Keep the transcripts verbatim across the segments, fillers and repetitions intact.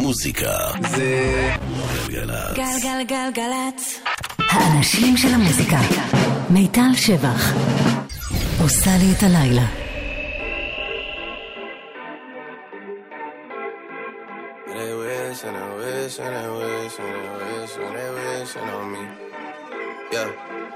המוזיקה זה גלגלצ. גלגלגלגלצ. האנשים של המוזיקה. מיטל שבח עושה לי את הלילה. They wish and they wish and they wish and they wish and they wishing on me. Yeah.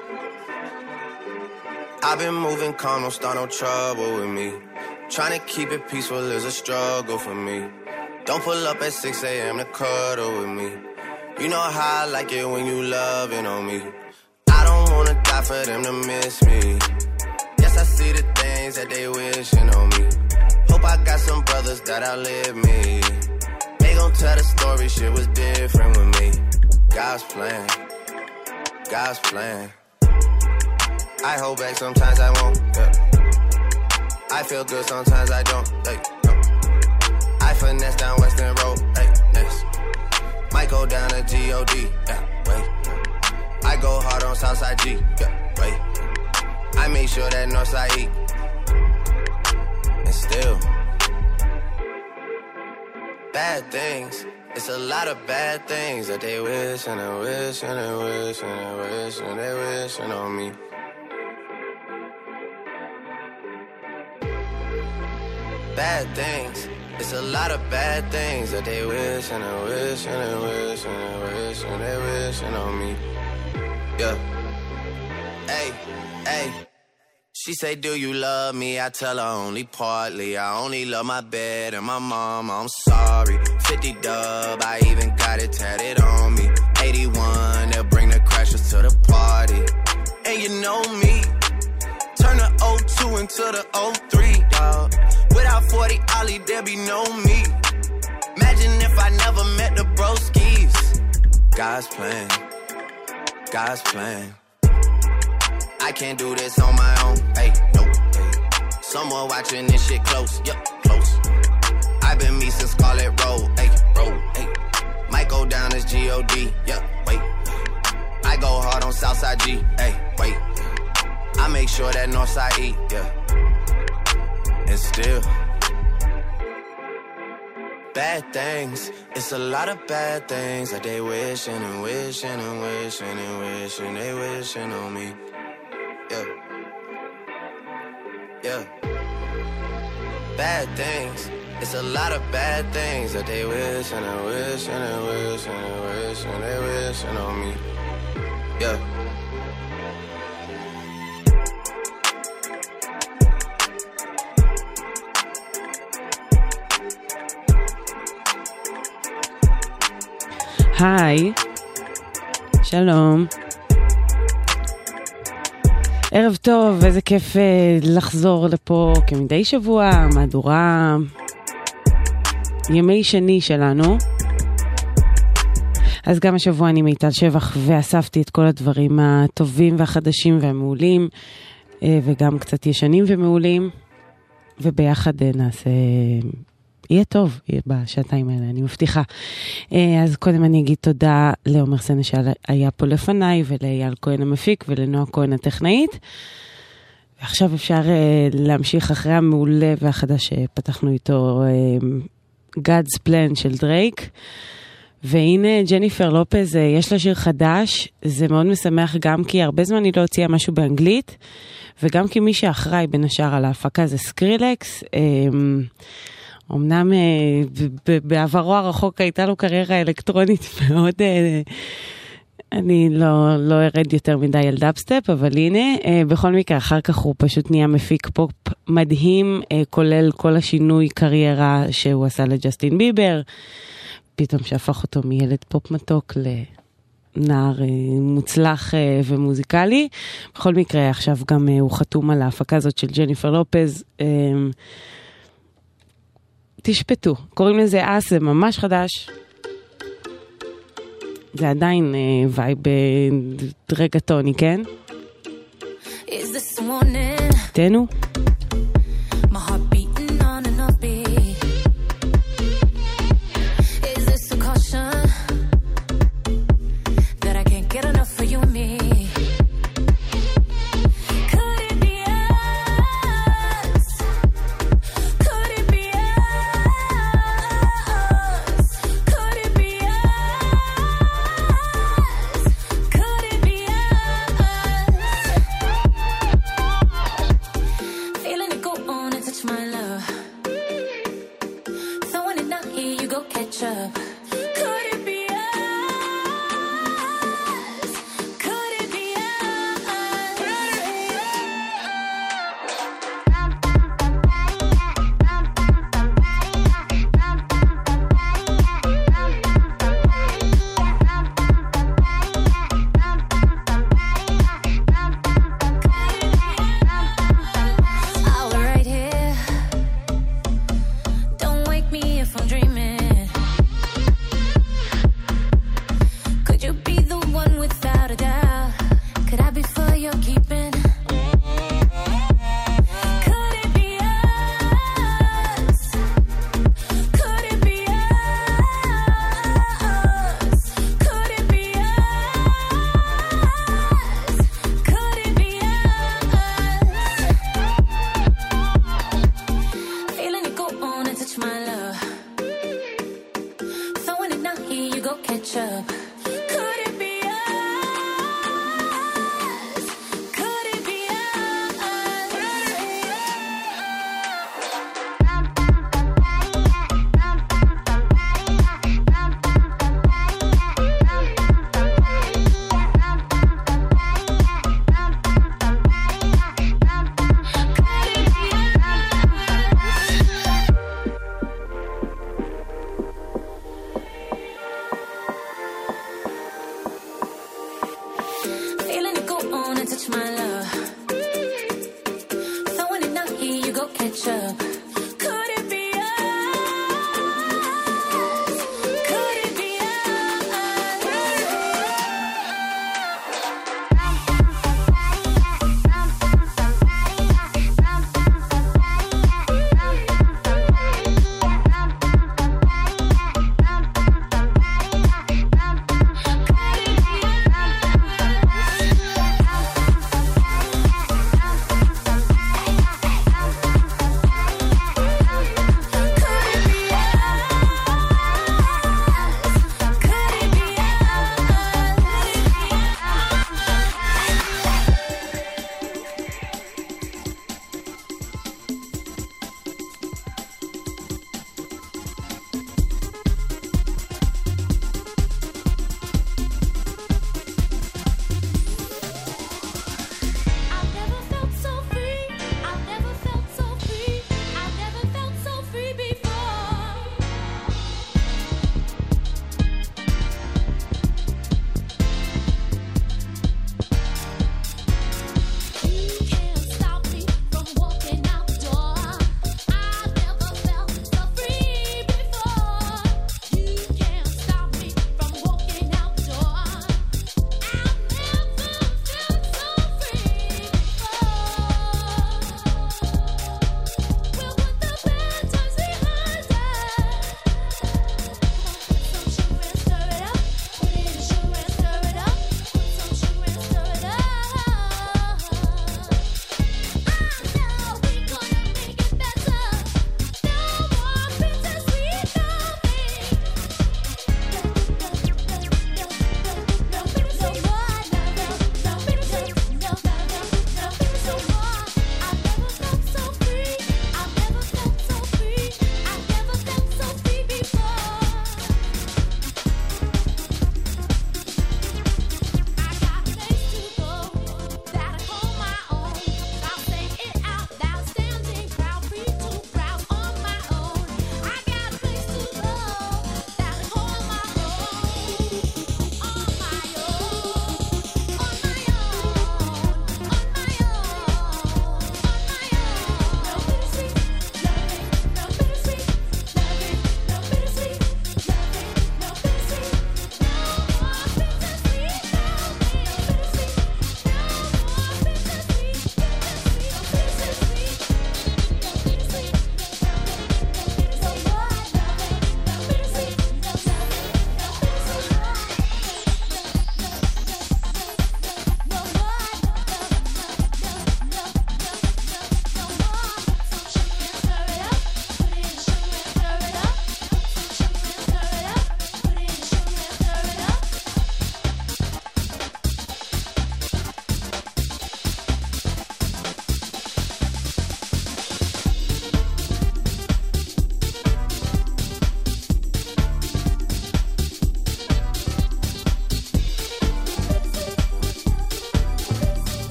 I've been moving calm, don't start no trouble with me. Trying to keep it peaceful is a struggle for me. Don't pull up at six a.m. to cuddle with me. You know how I like it when you loving on me. I don't wanna die for them to miss me. Yes, I see the things that they wishing on me. Hope I got some brothers that outlive me. They gon' tell the story, shit was different with me. God's plan, God's plan. I hold back, sometimes I won't, yeah. I feel good, sometimes I don't, hey, no. I finesse down Western Road, hey, next. Might go down to G O D, yeah, wait. I go hard on Southside G, yeah, wait. I make sure that Northside eat. And still, bad things. It's a lot of bad things that they wish and they wish and they wish and they wish and they wishing on me. Bad things. It's a lot of bad things that they wish and they wish and they wish and they wish and they wishing on me. Yeah. Hey, hey. She say, do you love me? I tell her only partly. I only love my bed and my mom. I'm sorry. fifty dub, I even got it tatted on me. eighty-one, they'll bring the crashers to the party. And you know me. Turn the oh two into the oh three, dawg. Without forty Ollie, there be no me. Imagine if I never met the broskies. God's plan, God's plan. I can't do this on my own, hey, no, hey. Someone watching this shit close, yup, close. I've been me since Scarlet Road, hey, road, hey. Might go down as G O D, yup, wait. I go hard on Southside G, hey, wait. I make sure that Northside eat, yeah. And still, bad things. It's a lot of bad things that they wishing and wishing and wishing and wishing they wishing on me. Yeah, yeah. Bad things. It's a lot of bad things that they wish and they wish and they wish and they wish and they wishing on me. Yeah. היי, שלום. ערב טוב, איזה כיף לחזור לפה כמדי שבוע, מהדורה ימי שני שלנו. אז גם השבוע אני מיטל שבח ואספתי את כל הדברים הטובים והחדשים והמעולים, וגם קצת ישנים ומעולים, וביחד נעשה... יהיה טוב, יהיה בשעתיים האלה, אני מבטיחה. אז קודם אני אגיד תודה לעומר סנש שהיה פה לפניי, ולאייל כהן המפיק, ולנועה כהן הטכנאית. ועכשיו אפשר להמשיך אחרי המעולה והחדש שפתחנו איתו, God's Plan של דרייק. והנה ג'ניפר לופז, יש לה שיר חדש, זה מאוד משמח גם כי הרבה זמן היא לא הוציאה משהו באנגלית, וגם כי מי שאחראי בין השאר על ההפקה זה סקרילקס, אמנם בעברו הרחוק הייתה לו קריירה אלקטרונית מאוד, אני לא, לא ארד יותר מדי על דאפסטפ, אבל הנה, בכל מקרה, אחר כך הוא פשוט נהיה מפיק פופ מדהים, כולל כל השינוי קריירה שהוא עשה לג'סטין ביבר, פתאום שהפך אותו מילד פופ מתוק לנער מוצלח ומוזיקלי. בכל מקרה, עכשיו גם הוא חתום על ההפקה הזאת של ג'ניפר לופז, תשפטו, קוראים לזה אס, זה ממש חדש. זה עדיין אה, וייב רגטוני, כן? תנו. Could catch up. Could it be us? Could it be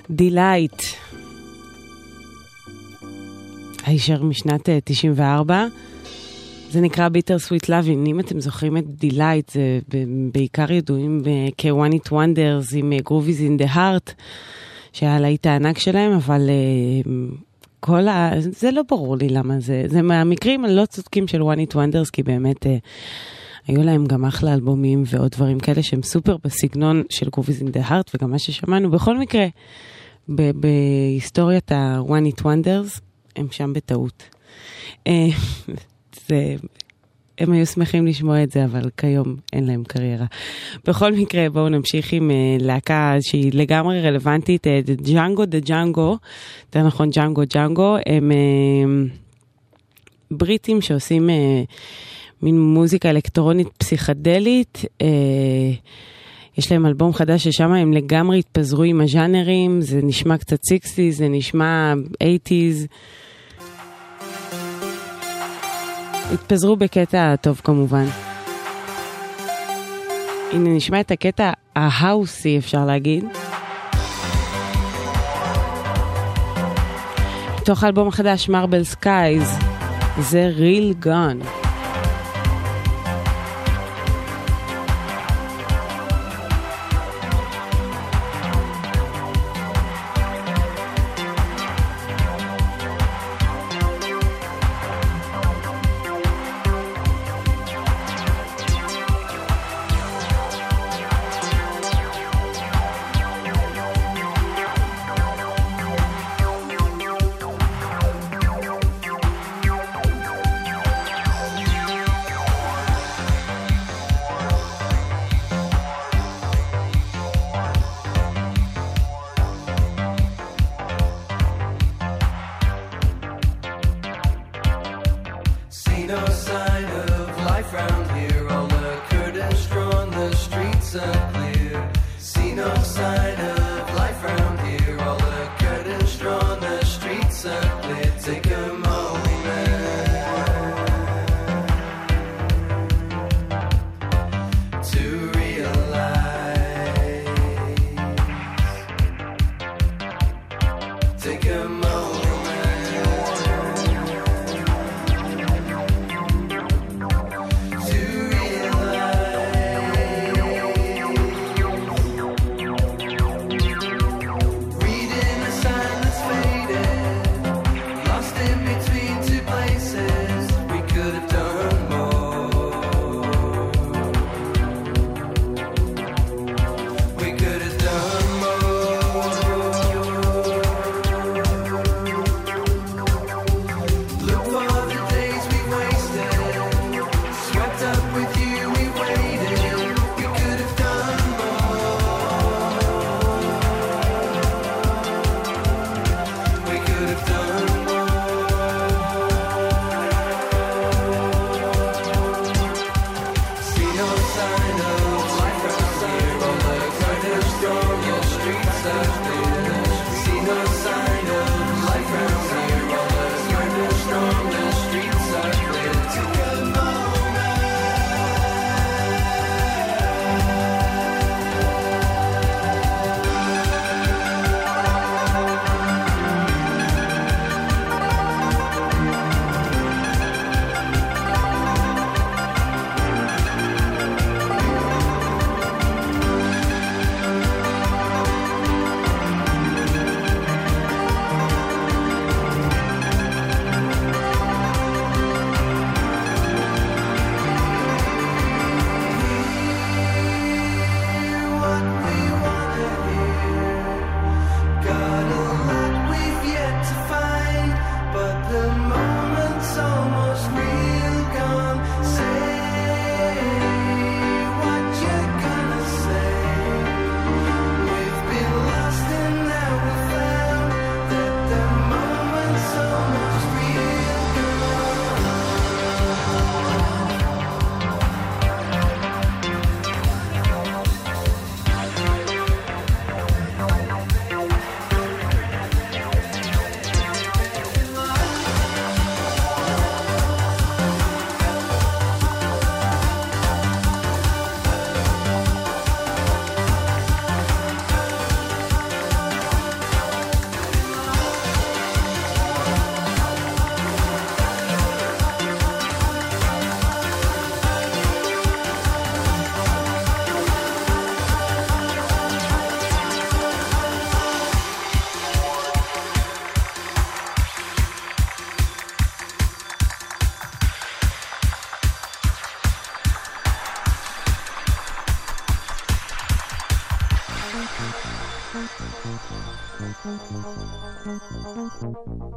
דילייט. הישר משנת תשעים וארבע. זה נקרא ביטר סוויט לאבין. אם אתם זוכרים את דילייט, זה בעיקר ידועים כ-One It Wonders עם Groovies in the Heart, שהיה להיט הענק שלהם, אבל כל ה... זה לא ברור לי למה זה. זה מהמקרים הלא צודקים של One It Wonders, כי באמת היו להם גם אחלה אלבומים ועוד דברים כאלה שהם סופר בסגנון של Groovies in the Heart, וגם מה ששמענו. בכל מקרה, בהיסטוריית ה-One It Wonders, הם שם בטעות. זה, הם היו שמחים לשמוע את זה, אבל כיום אין להם קריירה. בכל מקרה, בואו נמשיך עם uh, להקה שהיא לגמרי רלוונטית, uh, ג'אנגו דה ג'אנגו, זה נכון, ג'אנגו ג'אנגו, הם uh, בריטים שעושים uh, מין מוזיקה אלקטרונית פסיכדלית, uh, יש להם אלבום חדש ששם הם לגמרי התפזרו עם הז'אנרים, זה נשמע קצת סיקסטיז, זה נשמע אייטיז, התפזרו בקטע טוב כמובן. הנה נשמע את הקטע ההאוסי אפשר להגיד. תוך האלבום החדש מרבל סקייז, זה ריל גון.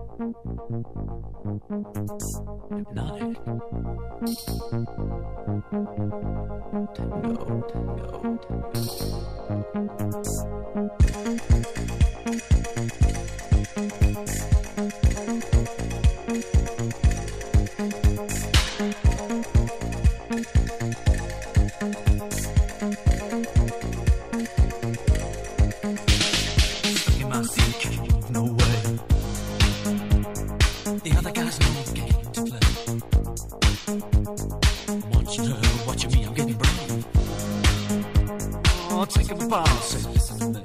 Hypnotic. Tango, tango, Stuck in my seat, can't move no way. The other guys know the game to play. Watching her, watching me, I'm getting brave. Oh, take a boss, say listen to me.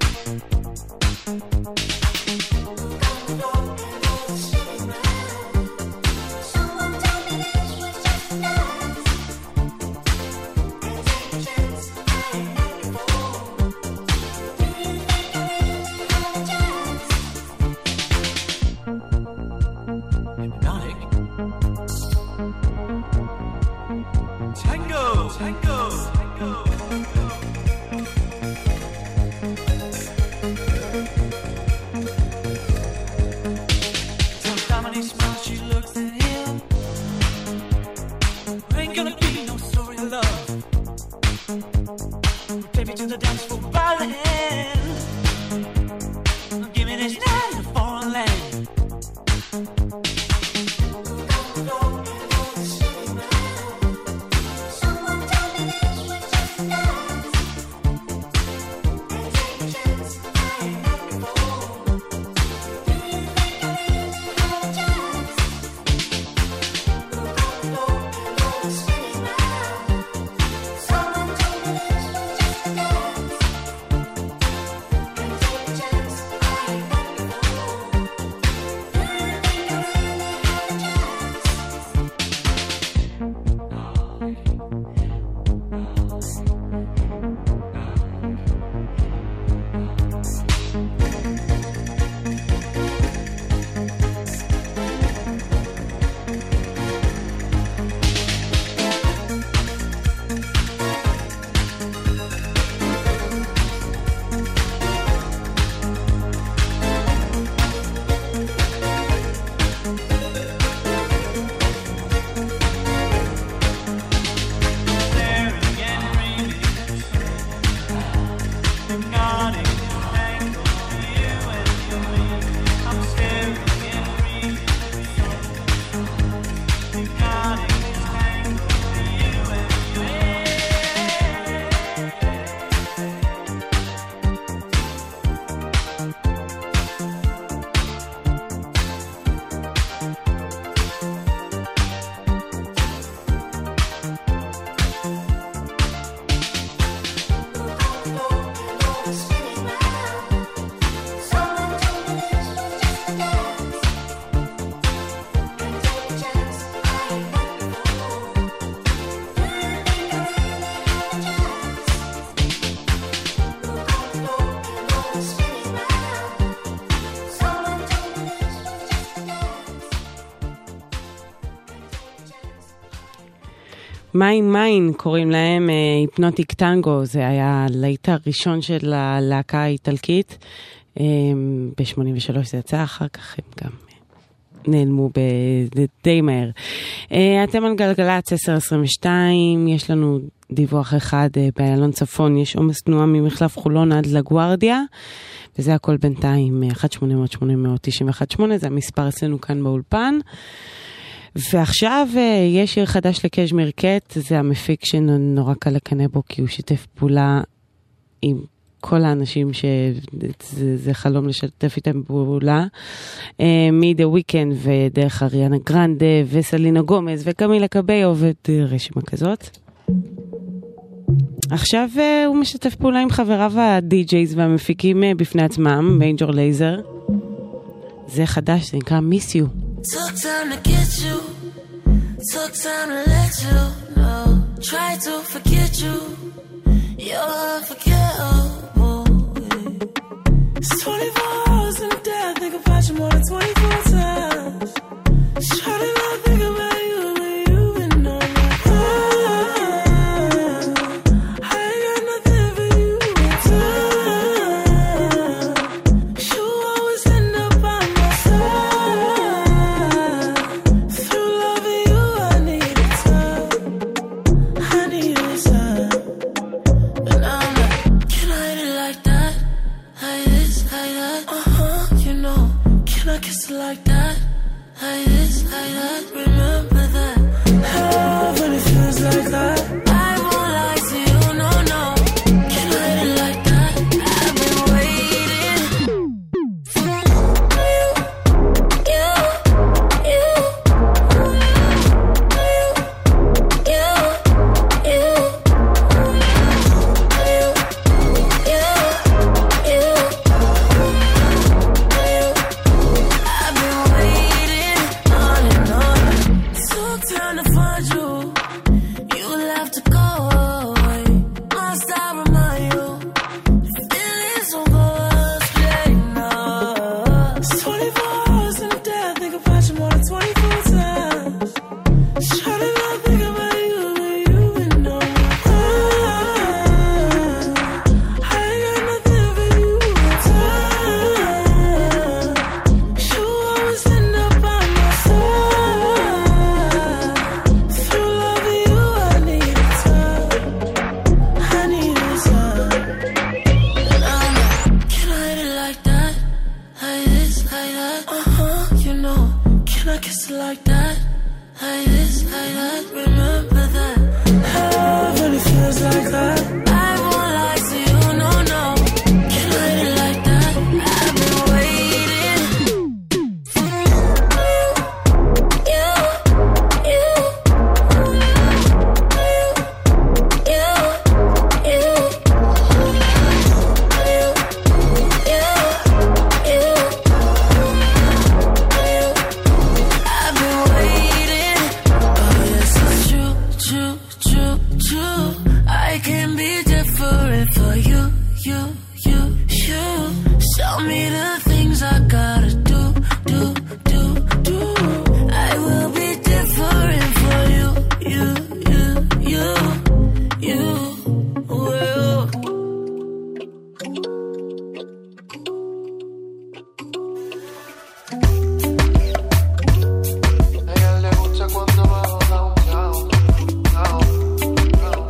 מיין מיין קוראים להם, היפנוטיק טנגו, זה היה הלהיט הראשון של הלהקה האיטלקית, ב-שמונים ושלוש זה יצא, אחר כך הם גם נעלמו די מהר. אתם על גלגלץ עשר עשרים ושתיים, יש לנו דיווח אחד באיילון צפון, יש עומס תנועה ממחלף חולון עד לגוארדיה, וזה הכל בינתיים, אחת שמונה אפס אפס שמונה תשע אחת שמונה, זה המספר אצלנו כאן באולפן. ועכשיו יש שיר חדש לקז'מיר קט, זה המפיק שנורא קל לקנא בו, כי הוא שיתף פעולה עם כל האנשים שזה חלום לשתף איתם פעולה, מ-The Weeknd ודרך אריאנה גרנדה וסלינה גומז וקמילה קביו ורשימה כזאת. עכשיו הוא משתף פעולה עם חבריו הדי-ג'ייז והמפיקים בפני עצמם, מיינג'ור לייזר. זה חדש, זה נקרא Miss You. Took time to get you, took time to let you know. Try to forget you, you're unforgettable. It's twenty-four hours in a day, I think about you more than twenty-four times. Try to not think about you when you've been on my mind. I ain't got nothing for you in time. You always end up by my side. like this, like that, remember that. Love really feels like that. I won't lie to you, no, no. Can't hide it like that. I've been waiting for you, you, you, you, you, you, you, you, you. I've been waiting. Oh yes, it's true, true, true, true. I can be different for you, you, you, you. Show me the things I gotta do, do, do, do. I will be different for you, you, you, you, you will. A ella le gusta cuando bajo down, down, down, down.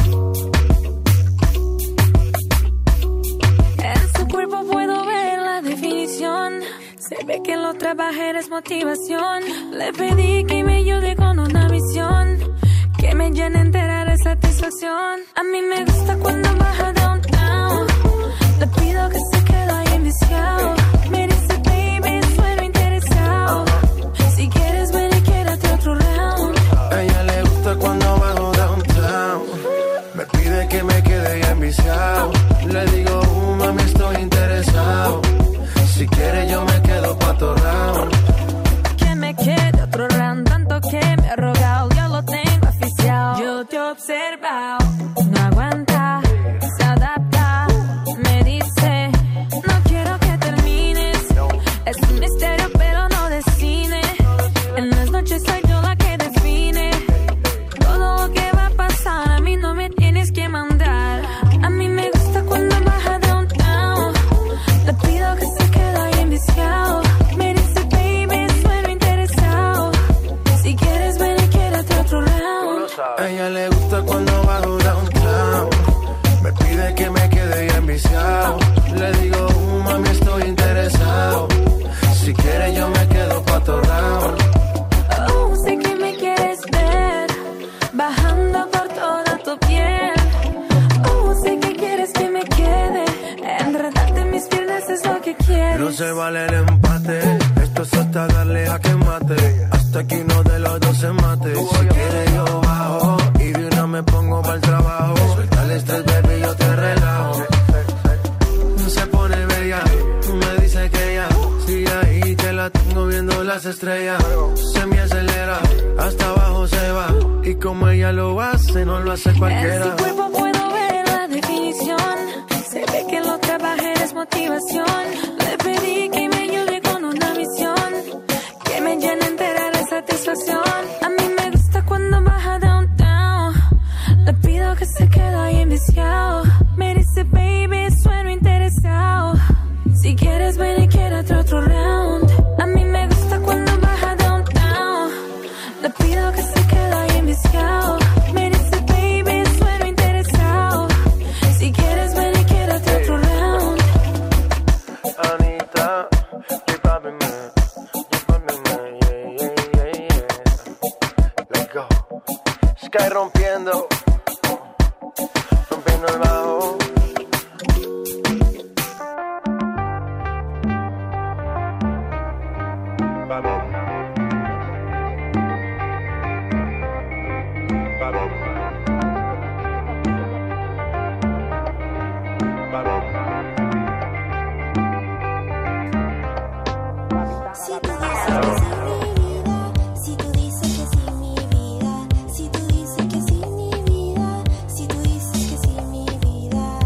En su cuerpo puedo ver la definición. Se ve que lo trabajé es motivación. Le pedí que me ayude con una misión que me llene entera de satisfacción. A mí me gusta cuando baja downtown. Le pido que se quede ahí enviciado. Me dice baby, sueno interesado. Si quieres ven y quédate otro round. A ella le gusta cuando bajo downtown. Me pide que me quede ya enviciado. Le digo, uh, mami, estoy interesado. Si quiere yo me quedo pa' tu round. Que me quede otro round, tanto que me ha rogado, yo lo tengo oficial. Yo te he observado, no aguanta, se adapta. Me dice, no quiero que termines. Es un misterio pero no de cine. En las noches soy yo la que define todo lo que va a pasar. A mí no me tienes que mandar. A mí me gusta cuando baja downtown. Le pido que se quede ahí enviciado. Me dice baby, sueno interesado. Si quieres ven y quédate otro round. A ella le gusta cuando bajo downtown. Me pide que me quede ya enviciado. Le digo, uh, mami, estoy interesado. Si quiere yo me quedo pa' tu round. Oh, sé que me quieres ver bajando por toda tu piel. Oh, sé que quieres que me quede enredarte en mis piernas, es lo que quieres. No se vale el empate. Esto es hasta darle a que mate. Hasta aquí uno de los dos se mate. Si quiere yo bajo y de una me pongo pa'l trabajo. Suelta el estrés, baby, yo te relajo. No se pone bella, tú me dices que ya. Sigue ahí que la tengo viendo las estrellas. Se me acelera, hasta abajo se va. Y como ella lo hace, no lo hace En cualquiera. su cuerpo puedo ver la definición. Se ve que lo trabajé es motivación. Le pedí que me ayude con una misión que me llene entera de satisfacción. A mí me gusta cuando baja downtown. Le pido que se quede ahí enviciado. Me dice baby, sueno interesado. Si quieres ven y quédate otro round. A mí me gusta cuando baja downtown. Le pido que se quede ahí enviciado. Me dice baby, sueno interesado. Si quieres ven y quédate otro round. Anita, you poppin' man, you poppin' man, yeah, yeah, yeah, yeah. Let's go. Sky rompiendo, rompiendo el bajo. Si tú dices que sí, mi vida. Si tú dices que sí, mi vida. Si tú dices que sí, mi vida. Si tú dices que sí, mi vida.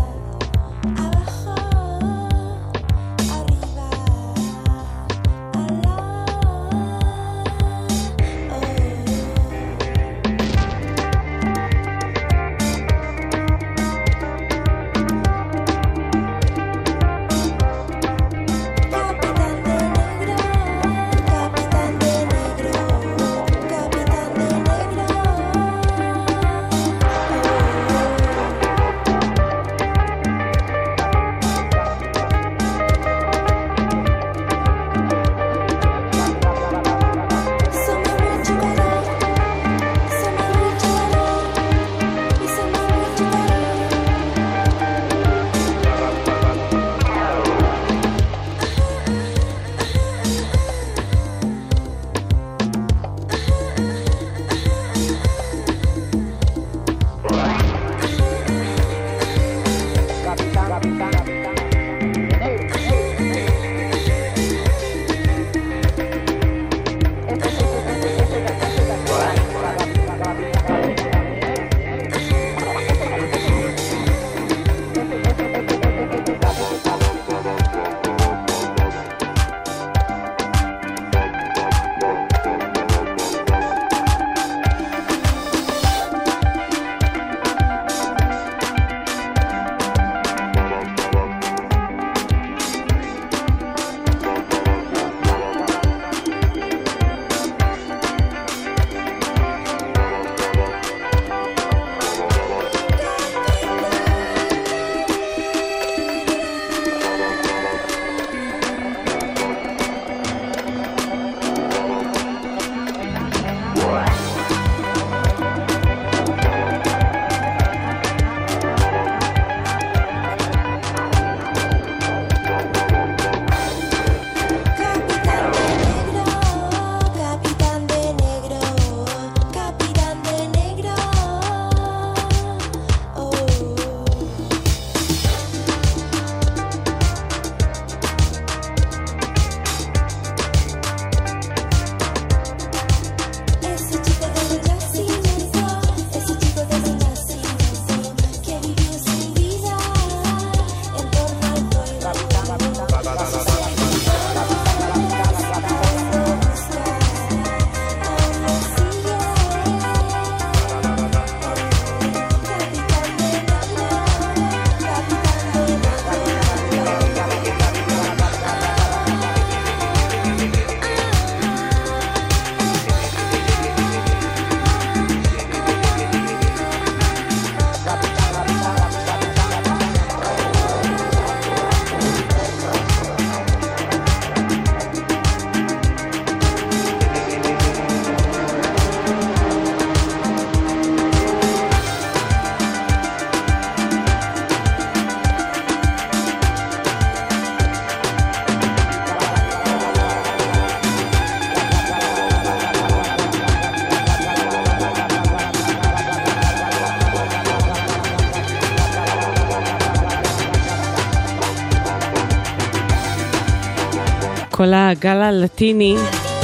כל הגל הלטיני.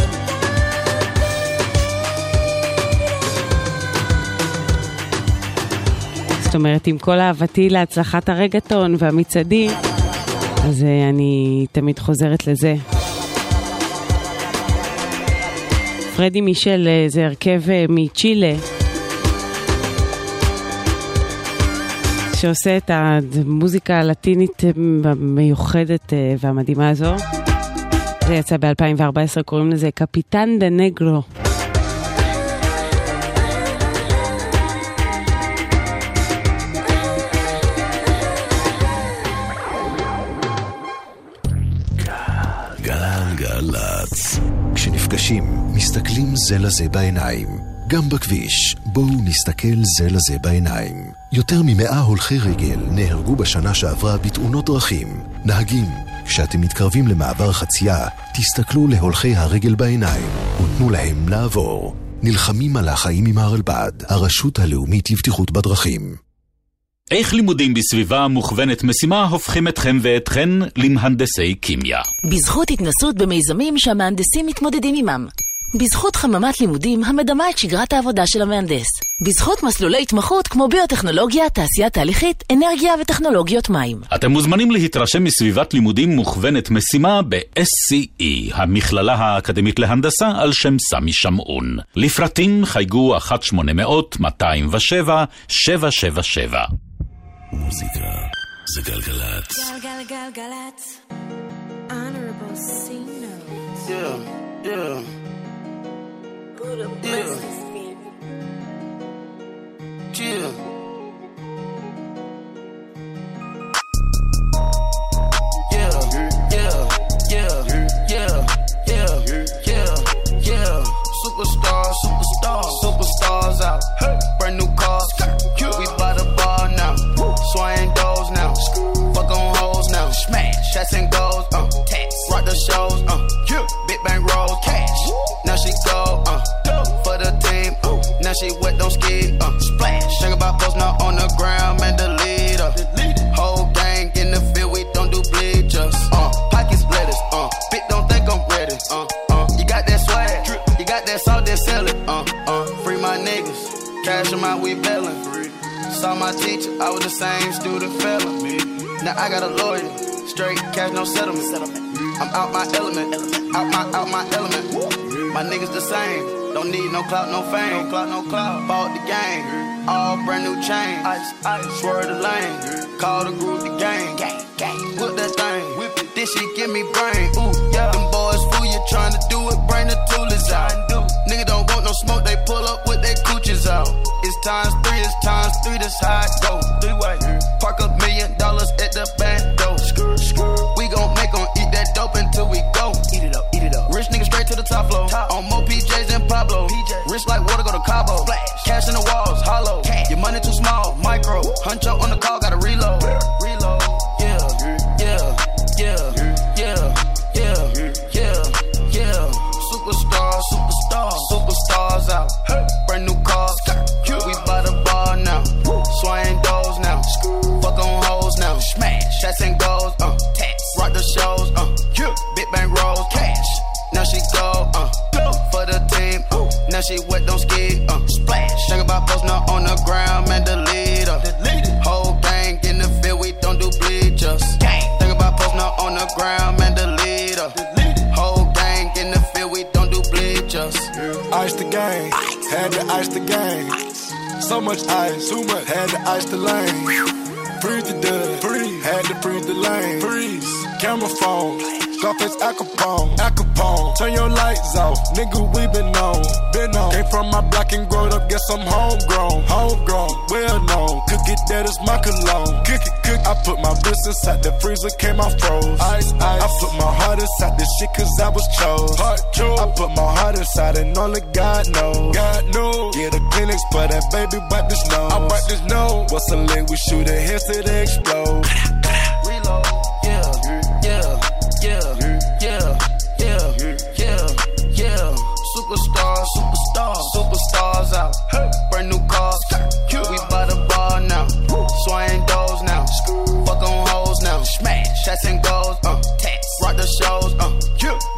זאת אומרת, עם כל אהבתי להצלחת הרגטון והמצעדים, אז אני תמיד חוזרת לזה. פרדי מישל זה הרכב מצ'ילה, שעושה את המוזיקה הלטינית המיוחדת והמדהימה הזו. זה יצא ב-אלפיים וארבע עשרה, קוראים לזה קפיטן דה נגרו. גלגלצ. כשנפגשים, מסתכלים זה לזה בעיניים. גם בכביש, בואו נסתכל זה לזה בעיניים. יותר ממאה הולכי רגל נהרגו בשנה שעברה בתאונות דרכים. נהגים, כשאתם מתקרבים למעבר חצייה, תסתכלו להולכי הרגל בעיניים ותנו להם לעבור. נלחמים על החיים עם הרלב"ד, הרשות הלאומית לבטיחות בדרכים. איך לימודים בסביבה מוכוונת משימה הופכים אתכם ואתכן למהנדסי כימיה? בזכות התנסות במיזמים שהמהנדסים מתמודדים עמם. בזכות חממת לימודים המדמה את שגרת העבודה של המהנדס. בזכות מסלולי התמחות כמו ביוטכנולוגיה, תעשייה תהליכית, אנרגיה וטכנולוגיות מים. אתם מוזמנים להתרשם מסביבת לימודים מוכוונת משימה ב-אס סי אי, המכללה האקדמית להנדסה על שם סמי שמעון. לפרטים חייגו אחת שמונה אפס אפס מאתיים ושבע שבע שבע שבע. מוזיקה זה גלגלצ. גלגלגלגלצ. Honorable C notes. Yeah, yeah. Buddha blesses me. Chill. Yeah, yeah, yeah, yeah, yeah, yeah, yeah. Superstar, superstar, superstars out. Brand new cars, we by the bar now. Swaying doors now. Fuck on hoes now. Smash, shots and goals, uh, tax. Rock the shows, uh, big bang rolls, cash. Now she go, uh, for the team, uh, now she wet, don't ski, uh, splash. Think about post now on the ground, man, the leader. Whole gang in the field, we don't do bleachers, uh, pockets lettuce, uh, bitch don't think I'm ready, uh, uh, you got that swag, you got that salt, that sell it, uh, uh, free my niggas, cash them out, we bailing. Saw my teacher, I was the same student fella. Now I got a lawyer, straight cash, no settlement. I'm out my element, out my out my element. My niggas the same, don't need no clout, no fame. No clout, no clout. Bought the game, all brand new chain. Ice, ice, swerve the lane, call the group the game. Gang, gang, whip that thing, whip it. This shit give me brain. Ooh, yeah. Them boys fool you trying to do it, bring the toolers out. Nigga don't want no smoke, they pull up with their coochies out. It's times three, it's times three, that's how it go. Three way, park a million dollars at the back door. We gon' make them eat that dope until we go. Eat it up, eat it up. Rich nigga straight to the top floor. Top. On more P Js than Pablo. P J. Rich like water, go to Cabo. Flash. Cash in the walls, hollow. Cash. Your money too small, micro. Huncho on the call, gotta reload. Reload. Yeah, yeah, yeah, yeah, yeah, yeah, yeah. Superstar, superstar, superstars out. Brand new cars, we by the bar now. Swaying doors now. Fuck on hoes now. Smash, shots and goals, uh, tax. Rock the shows, uh, big bang rolls, cash. Now she go, uh, for the team, uh, now she wet, don't ski, uh, splash. Think about post now on the ground, man, the leader. Whole gang in the field, we don't do bleachers. Think about post now on the ground, man, the leader. Whole gang in the field, we don't do bleachers. Ice the game, had to ice the game. So much ice, too much, had to ice the lane. Freeze the dud, freeze, had to freeze the lane. Freeze, camera phone, Scarface Al Capone, Al Capone. Turn your lights off, nigga, we been on, been on. Came from my block and growed up, guess I'm homegrown, homegrown, well known. Cook it, that is my cologne. Cook it, cook. I put my wrist inside the freezer, came out froze. Ice, ice. I put my heart inside this shit cause I was chose. Heart chose. I put my heart inside and only God knows. God knows. Yeah, the clinics, but that baby wipe this nose. I wipe this nose. What's a link? We shoot it here till they explode. Reload. Yeah, yeah, yeah, yeah, yeah, yeah, yeah. Superstar, superstar, superstars out. Brand new cars, we by the bar now. Swaying doors now. Fuck on hoes now. Smash, shots and goals, uh, tax. Rock the shows, uh,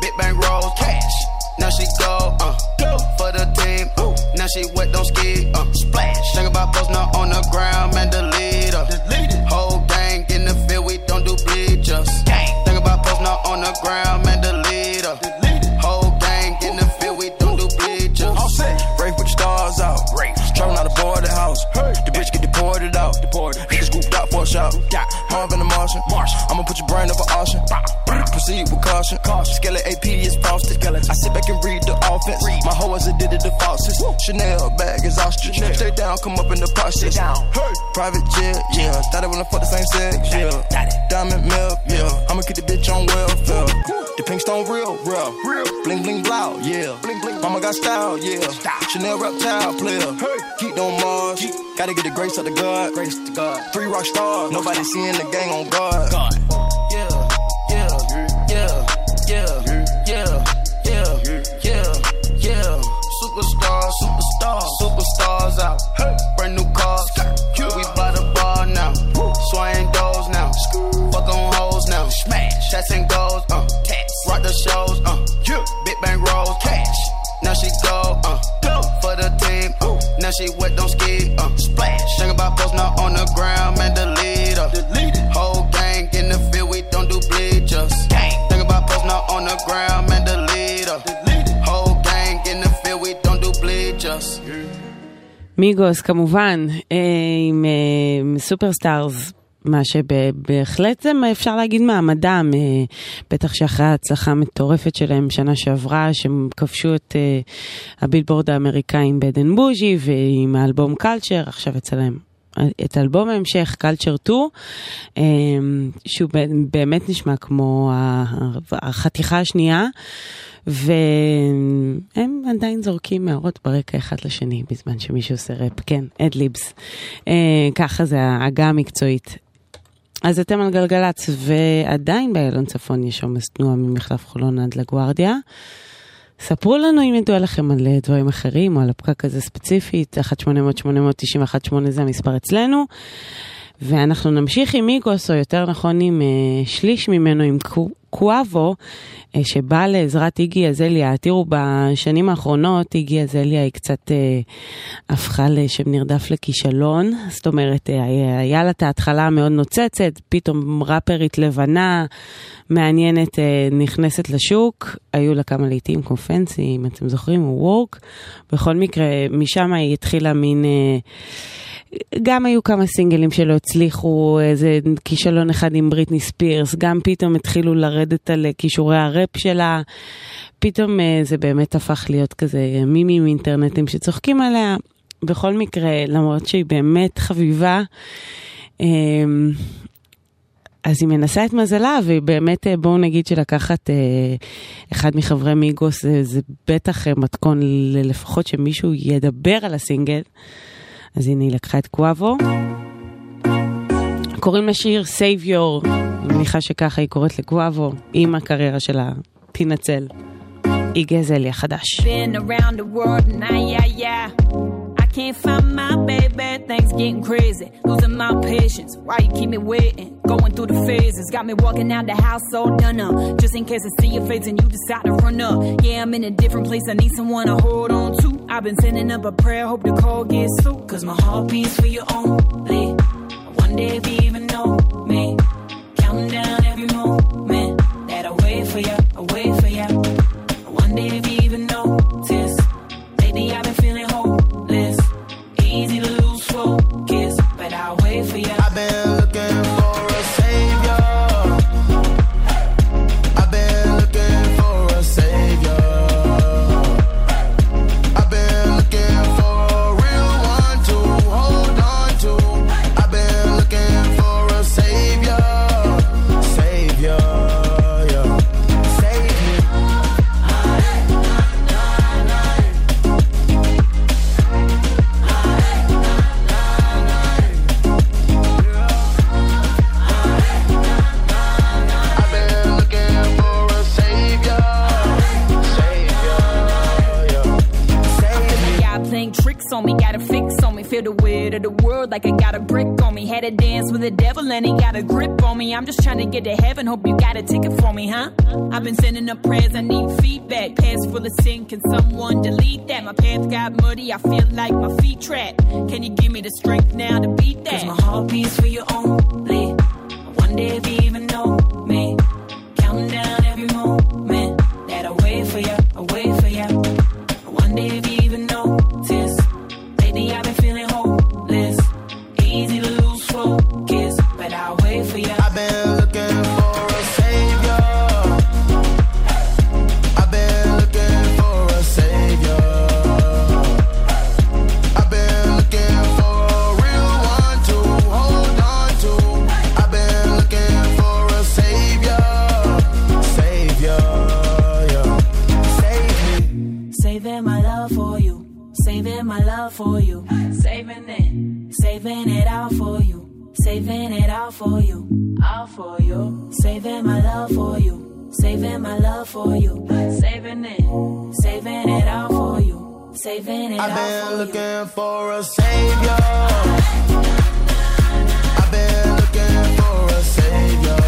Now she wet, don't skid, uh, splash. Think about posting her on the ground, man, delete her. Whole gang in the field, we don't do bleachers. Think about posting her on the ground, man, delete her. Whole gang in the field, we don't do bleachers. All set, break with the stars out. Traveling out aboard the house. The bitch get deported out. Niggas scooped out for a shot. Marvin the Martian. I'ma put your brain up for auction. Proceed with caution. Skeleton A P is frosted. I sit back and read the offense. My hoe as a did it the faucets. Chanel bag is ostrich. Stay down, come up in the process. Private jet, yeah. Thought I wanna fuck the same sex, yeah. Diamond milk, yeah. I'ma keep the bitch on welfare. The pink stone real, real. Bling bling blow, yeah. Mama got style, yeah. Chanel reptile player. Keep on Mars. Gotta get the grace of the God. Grace to God. Three rock stars. Nobody seeing the gang on guard. God. Yeah, yeah, yeah, yeah, yeah, yeah, yeah, yeah. Superstars, superstars, superstars out. Brand new cars. We by the bar now. Swaying doors now. Fuck on hoes now. Smash. Shots and goals. Uh. Rock the shows. Uh. Big bang rolls. Cash. Now she go. Uh. For the team. Uh. Now she wet, don't skid. Uh. Splash. Think about posting her on the ground, man, delete her. Whole gang in the field, we don't do bleachers. Think about posting her on the ground, man, delete her. Whole gang in the field, we don't do bleachers. מיגוס כמובן, עם סופרסטארס, מה שבהחלט זה אפשר להגיד מעמדם, בטח שאחרי ההצלחה המטורפת שלהם שנה שעברה, שהם כבשו את הבילבורד האמריקאי עם בדן בוז'י, ועם האלבום קלצ'ר, עכשיו אצלהם את אלבום ההמשך, קלצ'ר טו, שהוא באמת נשמע כמו החתיכה השנייה, והם עדיין זורקים מהרות ברקע אחד לשני, בזמן שמישהו עושה רפ, כן, אדליבס. ככה זה ההגה המקצועית. אז אתם על גלגלץ, ועדיין באיילון צפון יש עומס תנועה ממחלף חולון עד לגוארדיה. ספרו לנו אם ידוע לכם על דברים אחרים, או על הפקק הזה ספציפית, אחת שמונה אפס אפס שמונה תשע אחת שמונה זה המספר אצלנו, ואנחנו נמשיך עם מיגוס, או יותר נכון עם uh, שליש ממנו, עם קואבו, uh, שבא לעזרת איגי אזליה. תראו, בשנים האחרונות איגי אזליה היא קצת uh, הפכה לשם נרדף לכישלון, זאת אומרת, uh, היה לה את ההתחלה מאוד נוצצת, פתאום רפרית לבנה, מעניינת, uh, נכנסת לשוק, היו לה כמה לעיתים כמו פנסי, אם אתם זוכרים, הוא וורק, בכל מקרה, משם היא התחילה מין... Uh, גם היו כמה סינגלים שלא הצליחו, איזה כישלון אחד עם בריטני ספירס, גם פתאום התחילו לרדת על כישורי הראפ שלה, פתאום זה באמת הפך להיות כזה מימים אינטרנטים שצוחקים עליה. בכל מקרה, למרות שהיא באמת חביבה, אז היא מנסה את מזלה, והיא באמת, בואו נגיד שלקחת אחד מחברי מיגוס, זה, זה בטח מתכון לפחות שמישהו ידבר על הסינגל. אז הנה היא לקחה את קואבו. קוראים לשיר Savior. אני מניחה שככה היא קוראת לקואבו, עם הקריירה שלה. תנצל. איגי אזליה חדש. Been around the world and I, yeah, yeah. I can't find my baby, things getting crazy. Losing my patience, why you keep me waiting? Going through the phases, got me walking out the house all done up. Just in case I see your face and you decide to run up. Yeah, I'm in a different place, I need someone to hold on to. I've been sending up a prayer, hope the call gets through. Cause my heart beats for you only. I wonder if you even know me. Counting down every moment that I wait for you, I wait for you. I wonder if you even notice. Lately I've been feeling hopeless. Easy to lose focus, but I'll wait for you. I've been looking for a savior. I've been looking for a savior. I've been looking for a real one to hold on to. I've been looking for on me, got a fix on me. Feel the weight of the world like I got a brick on me. Had to dance with the devil and he got a grip on me. I'm just trying to get to heaven, hope you got a ticket for me, huh? I've been sending up prayers, I need feedback. Pants full of sin, can someone delete that? My pants got muddy, I feel like my feet trapped. Can you give me the strength now to beat that? Cause my heart beats for you only. I wonder if you even know me. Counting down every moment that I wait for you, I wait for you. I wonder if you even notice. Lately I've been feeling hopeless. Easy to lose focus, but I'll wait for you. I've been looking for a savior. I've been looking for a savior. I've been looking for a real one to hold on to. I've been looking for a savior. Savior, yeah. Save me. Saving my love for you. Saving my love for you. Saving it. Saving it all for you. Saving it all for you. All for you. Saving my love for you. Saving my love for you. Saving it. Saving it all for you. Saving it all for you. I've been looking for a savior. I've been looking for a savior.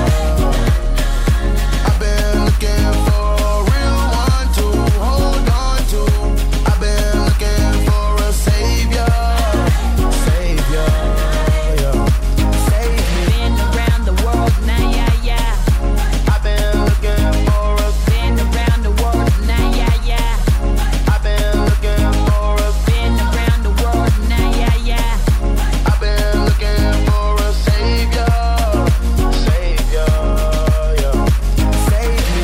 I've been looking for a real one to hold on to. I've been looking for a savior. Savior, yeah. Save me. Been around the world, now yeah, yeah. I've been looking for a. Been around the world, now yeah, yeah. I've been looking for a. Been around the world, now yeah, yeah. I've been looking for a savior. Savior, yeah. Save me.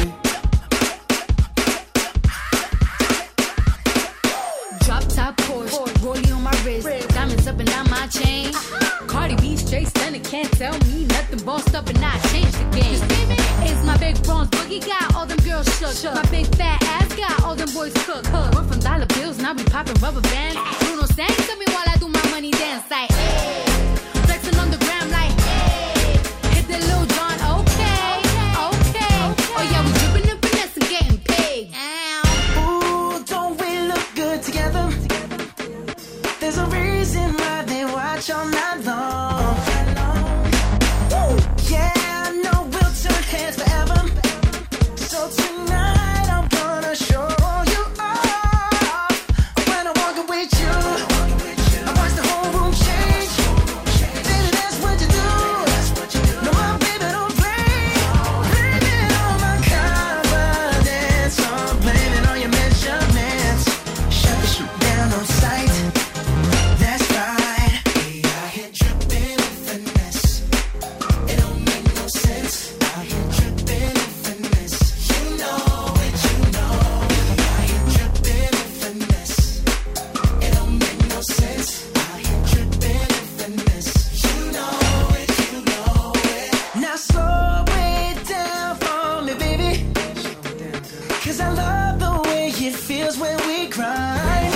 Drop top Porsche, rollie on my wrist, diamonds up and down my chain. Cardi B straight stunning, can't tell me nothing. Bossed up and I changed the game. It's my big bronze boogie, got all them girls shook. My big fat ass got all them boys cooked. Went from dollar bills, now we popping rubber bands. Bruno sang to me while I do my money dance like, hey. Flexing on the gram like, hey. Hit the Lil Jon, okay, okay. Oh yeah, we dripping and finesse and getting paid. Ooh, don't we look good together? There's a reason why they watch all night long. Woo! Yeah, I know we'll turn heads forever. So tonight I'm gonna show you off. When I walk with you, I watch the whole room change. Baby, that's what you do. No, my baby don't play. Blame it on my confidence. I'm blaming on your measurements. Shut the shit down on sight. That's right. We out here dripping with finesse. It don't make no sense. Out here dripping with finesse. You know it, you know. We out here dripping with finesse. It don't make no sense. Out here dripping with finesse. You know it, you know it. Now slow it down for me, baby. Cause I love the way it feels when we grind.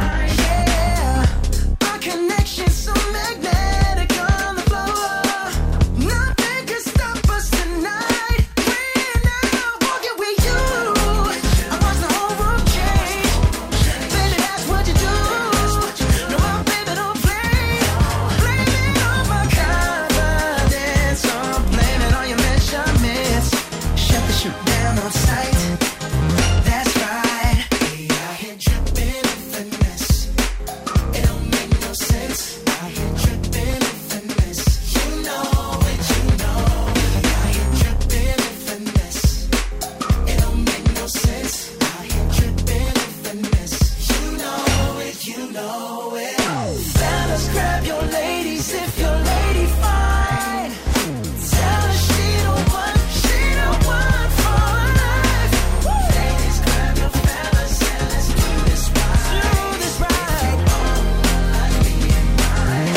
Yeah, our connection's so magnetic on the floor. Nothing can stop us tonight. We're now walking with you. I watch the whole room change. Baby, that's what you do. No, my baby don't play. Blame it on my confidence. I'm blaming on your measurements. Shut the shit down on sight. That's right. We out here dripping with finesse. It don't make no sense. Out here dripping with finesse. You know it, you know. We out here dripping with finesse. It don't make no sense. Out here dripping with finesse. You know it, you know it. Fellas, grab your ladies if your lady fine. Tell her she the one, she the one for life. Ladies, grab your fellas and let's do this right. Do this right. Like me and mine.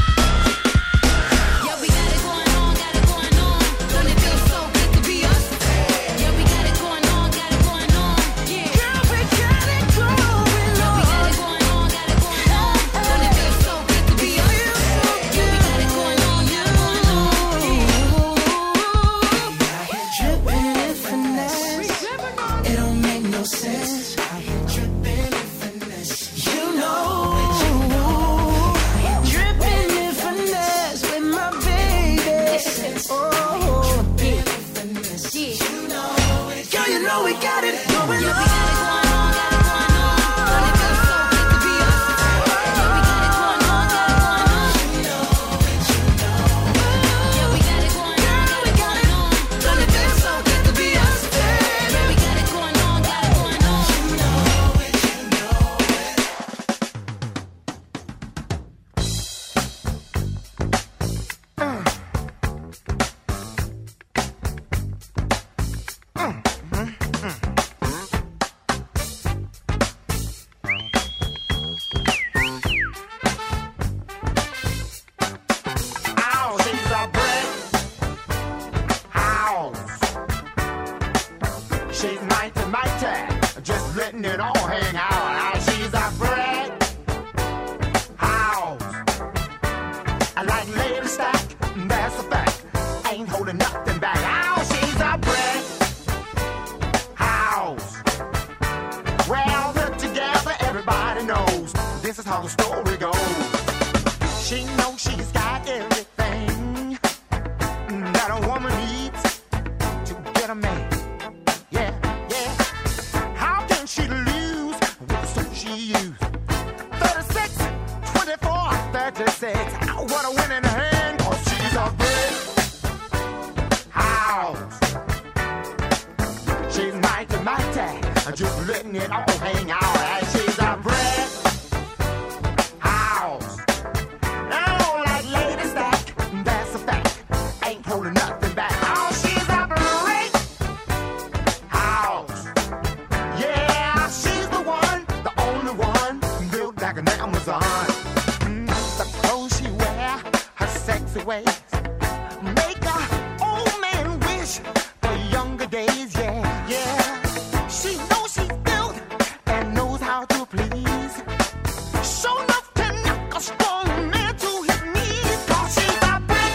Yeah, we got it going on, got it going on. Don't it feel so good to be us? Yeah, we got it going on, got it going on. Yeah, Girl, we got it going yeah, we got on. it going on, got it going on. Don't it feel so good to be us? knows this is how the story goes. She knows she's got everything that a woman needs to get a man. Yeah, yeah. How can she lose with the suit she used? thirty-six, twenty-four, thirty-six. What a winning hand, cause she's a brick house. She's mighty, mighty, just letting it all hang out. And she's a brick house. Oh, like Lady Stack, that's a fact. Ain't holding nothing back. Oh, she's a brick house. Yeah, she's the one, the only one, built like an Amazon. Mm, the clothes she wear, her sexy ways, make a old man wish for younger days. Yeah, yeah. She knows she's built and knows how to please. Show enough to knock a strong man to his knees. Cause she's a brick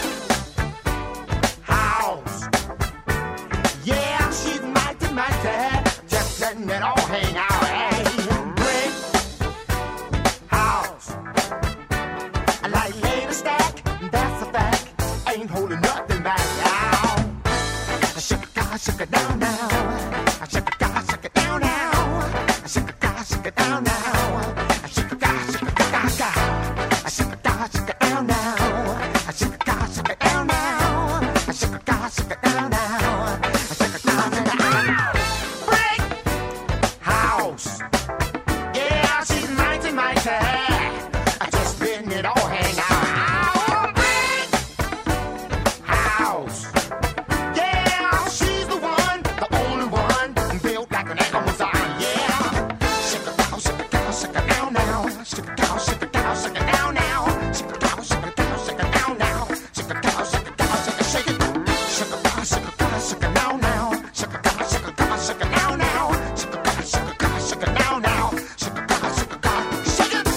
house. Yeah, she's mighty, mighty, just letting it all hang out. Hey, brick house. Like Lady Stack, that's a fact. Ain't holding nothing back now. Shake it, God, shake it down now. Shake it, God, shake it down now. Shake it, God, shake it down now. Shake it, God, shake it, God, God. Shake it, God, shake it down now. Shake it, God, shake it down now. Shake it, God, shake it down now. Shake it, God, shake it down now. Brick house. Yeah, she's mighty, mighty. Just letting it all hang out. Brick house. Yeah, she's the one, the only one, built like an Amazon. Yeah. Shake it down, shake it down, shake it down now. Shake it down, shake it down, shake it down now. Shake it down, shake it down, shake it down now. Shake it down, shake it down, shake it, shake it. Shake it down, shake it down, shake it down now. Shake it down, shake it down, shake it down now. Shake it down, shake it down, shake it down now. Shake it down, shake it down, shake it.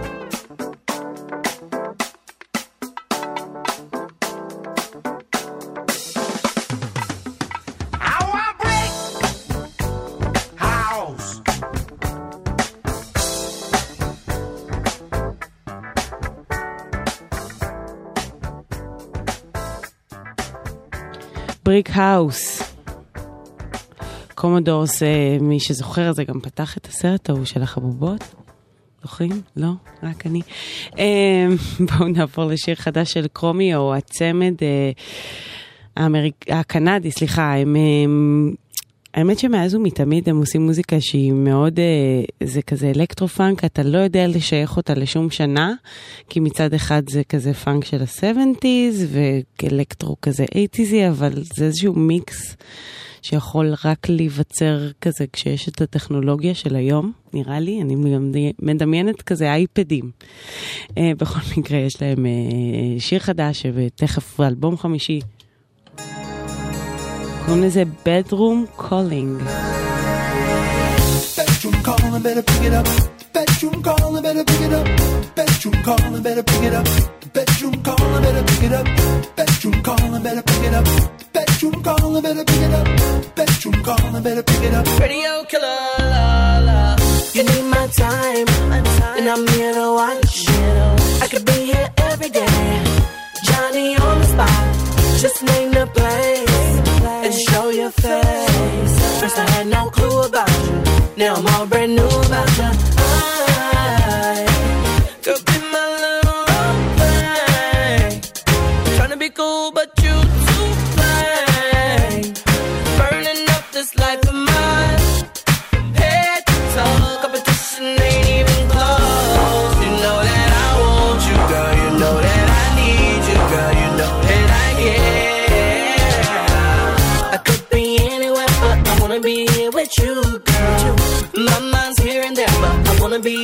Our brick house. בריק האוס. קומודורס, מי שזוכר, זה גם פתח את הסרט ההוא של החבובות. זוכרים? לא? רק אני. בואו נעבור לשיר חדש של קרומי, או הצמד האמריק... הקנדי, סליחה, הם... האמת שמאז ומתמיד הם עושים מוזיקה שהיא מאוד, זה כזה אלקטרו-פאנק, אתה לא יודע לשייך אותה לשום שנה, כי מצד אחד זה כזה פאנק של ה-שבעים, ואלקטרו כזה שמונים, אבל זה איזשהו מיקס שיכול רק להיווצר כזה כשיש את הטכנולוגיה של היום, נראה לי, אני מדמיינת כזה אייפדים. בכל מקרה יש להם שיר חדש, ותכף אלבום חמישי, קוראים לזה Bedroom Calling. Bedroom calling, better pick it up. Bedroom calling, better pick it up. Bedroom calling, better pick it up. Bedroom calling, better pick it up. Bedroom calling, better pick it up. Bedroom calling, better pick it up. Bedroom calling, better pick it up. Radio killer, la la. You need my time, and I'm here to watch. I could be here every day. Johnny on the spot, just name the place and show your face. First I had no clue about you, now I'm all brand new about you. I could be my little role play, tryna be cool but you too plain, burning up this life of mine. Head to toe, competition ain't even close. You know that I want you, girl. You know that I need you, girl. You know that I care. I could be anywhere, but I wanna be here with you, girl. My mind's here and there, but I wanna be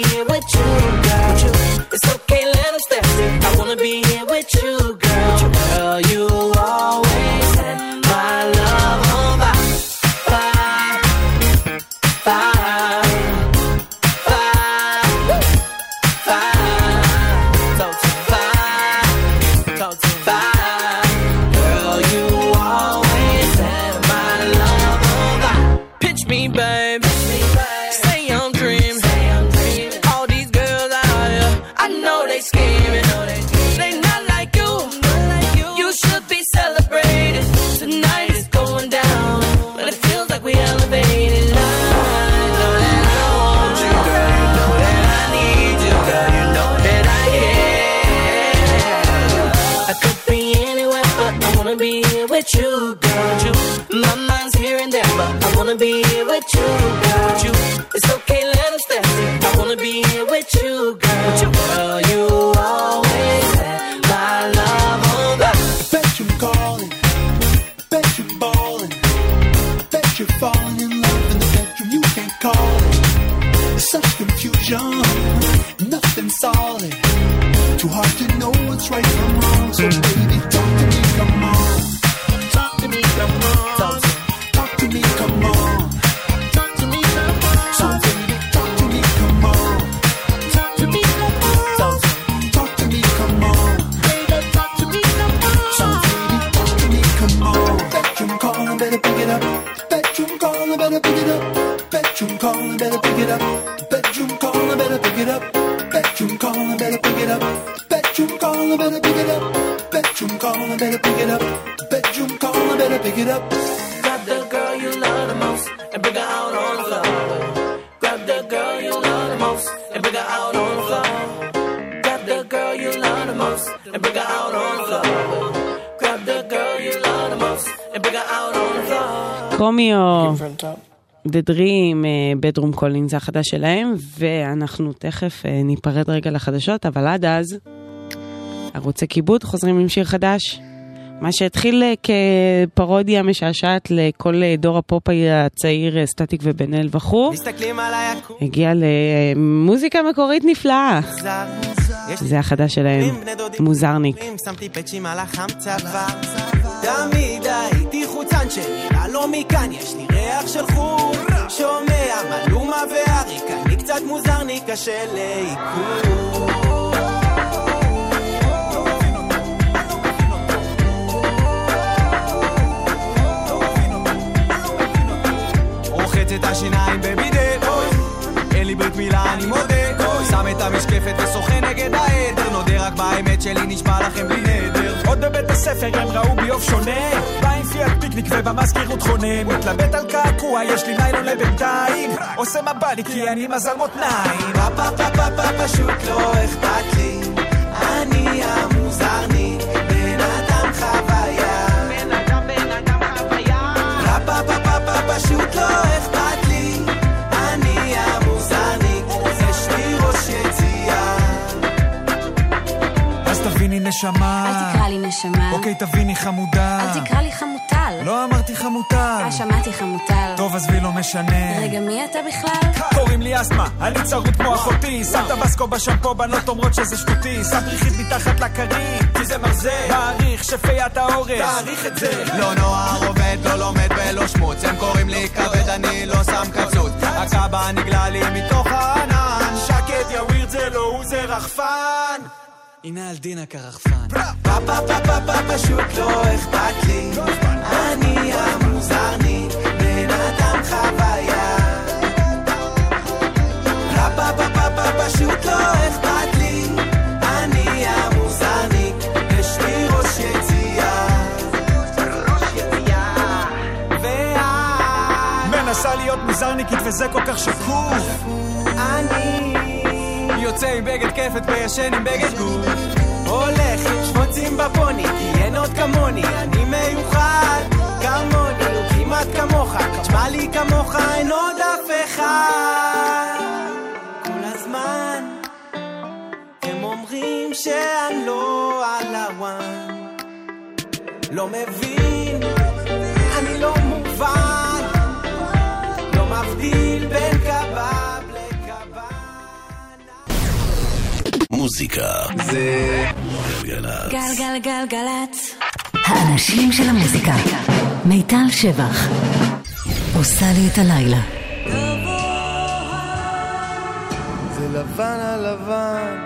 with you, girl. My mind's here and there, but I wanna be here with you, girl. It's okay, let them step in. I wanna be here with you, girl. Girl, you always had my love on the bedroom calling, bedroom balling, bedroom falling in love in the bedroom. You can't call it. There's such confusion, nothing solid. Too hard to know what's right from wrong. So baby, talk to me, come on. Talk to me, come on. Talk, talk to me, come on. Talk to me, come on. So baby, talk to me, come on. Talk to me, come on. Talk, talk to me, come on. Baby, talk to me, come on. So baby, talk to me, come on. Bedroom calling, better pick it up. Bedroom calling, better pick it up. Bedroom calling, better pick it up. Bedroom calling, better pick it up. Bedroom calling, better pick it up. Bedroom calling, better pick it up. Bedroom calling, better pick it up. Bedroom calling, better pick it up. Grab the girl you love the most and bring her out on the floor. Grab the girl you love the most and bring her out on the floor. Grab the girl you love the most and bring her out on the floor. Grab the girl you love the most and bring her out on the floor. קומיו, The Dream, Bedroom Calling זה החדש שלהם, ואנחנו תכף ניפרד רגע לחדשות, אבל עד אז ערוצי כיבוד חוזרים עם שיר חדש, מה שהתחיל כפרודיה משעשעת לכל דור הפופ הצעיר, סטטיק ובן אל וכו', הגיע למוזיקה מקורית נפלאה. זה החדש שלהם, מוזרניק. שמתי פצ'ים על החמצה תמיד הייתי חוצן שנראה לא מכאן, יש לי ריח של חור שומע מלומה ואריק, אני קצת מוזרניק, קשה לעיכול. רוחץ את השיניים בבידד, אין לי ברית מילה אני מודה, שם את המשקפת ושוחה נגד העדר, נודה רק באמת שלי נשמע לכם בלי נדר. עוד בבית הספר הם ראו בי אוף שונה, בא עם פיאט פיקניק ובמזכירות חונן, מתלבט על קעקוע, יש לי ניילון לבינתיים, עושה מבלי כי אני מזל מותניים. פאפה פאפה פאפה פשוט לא אכפת לי, אני המוזרניק, בן אדם חוויה, בן אדם בן אדם חוויה. פאפה פאפה פאפה פשוט לא אכפת לי, אני המוזרניק, יש לי ראש יציאה. אז תביני נשמה, אל תקרא לי נשמה. אוקיי תביני חמודה, אל תקרא לי חמוטל. לא אמרתי חמוטל. אה שמעתי חמוטל. טוב עזבי לא משנה. רגע מי אתה בכלל? קוראים לי אסמה, אני צרות כמו אחותי, שם טבסקו בשמפו, בנות אומרות שזה שטותי, שם פריחית מתחת לקרית כי זה מרזה, מעריך שפיית האורז, תעריך את זה. לא נוער עובד, לא לומד ולא שמוץ, הם קוראים לי כבד, אני לא שם קצות, הקבא נגלה לי מתוך הענן, שקט יווירד זה לא הוא זה רחפן, הנה על דינה כרחפן. פאפה פאפה פאפה פשוט לא אכפת לי, אני המוזרניק, בן אדם חוויה. פאפה פאפה פאפה פשוט לא אכפת לי, אני המוזרניק, יש לי ראש יציאה. ראש יציאה. ואת מנסה להיות מוזרניקית וזה כל כך שקוף. אני יוצא עם בגד כפת וישן עם בגד גוף, הולך עם שבוצים בפוני כי אין עוד כמוני, אני מיוחד כמוני, הוא כמעט כמוך, תשמע לי כמוך אין עוד אף אחד. כל הזמן הם אומרים שאני לא על הוואן, לא מבין, אני לא מובן, לא מבדיל בין קבב מוזיקה זה גלגלצ. גלגלגלגלצ. האנשים של המוזיקה. מיטל שבח עושה לי את הלילה. זה לבן על לבן.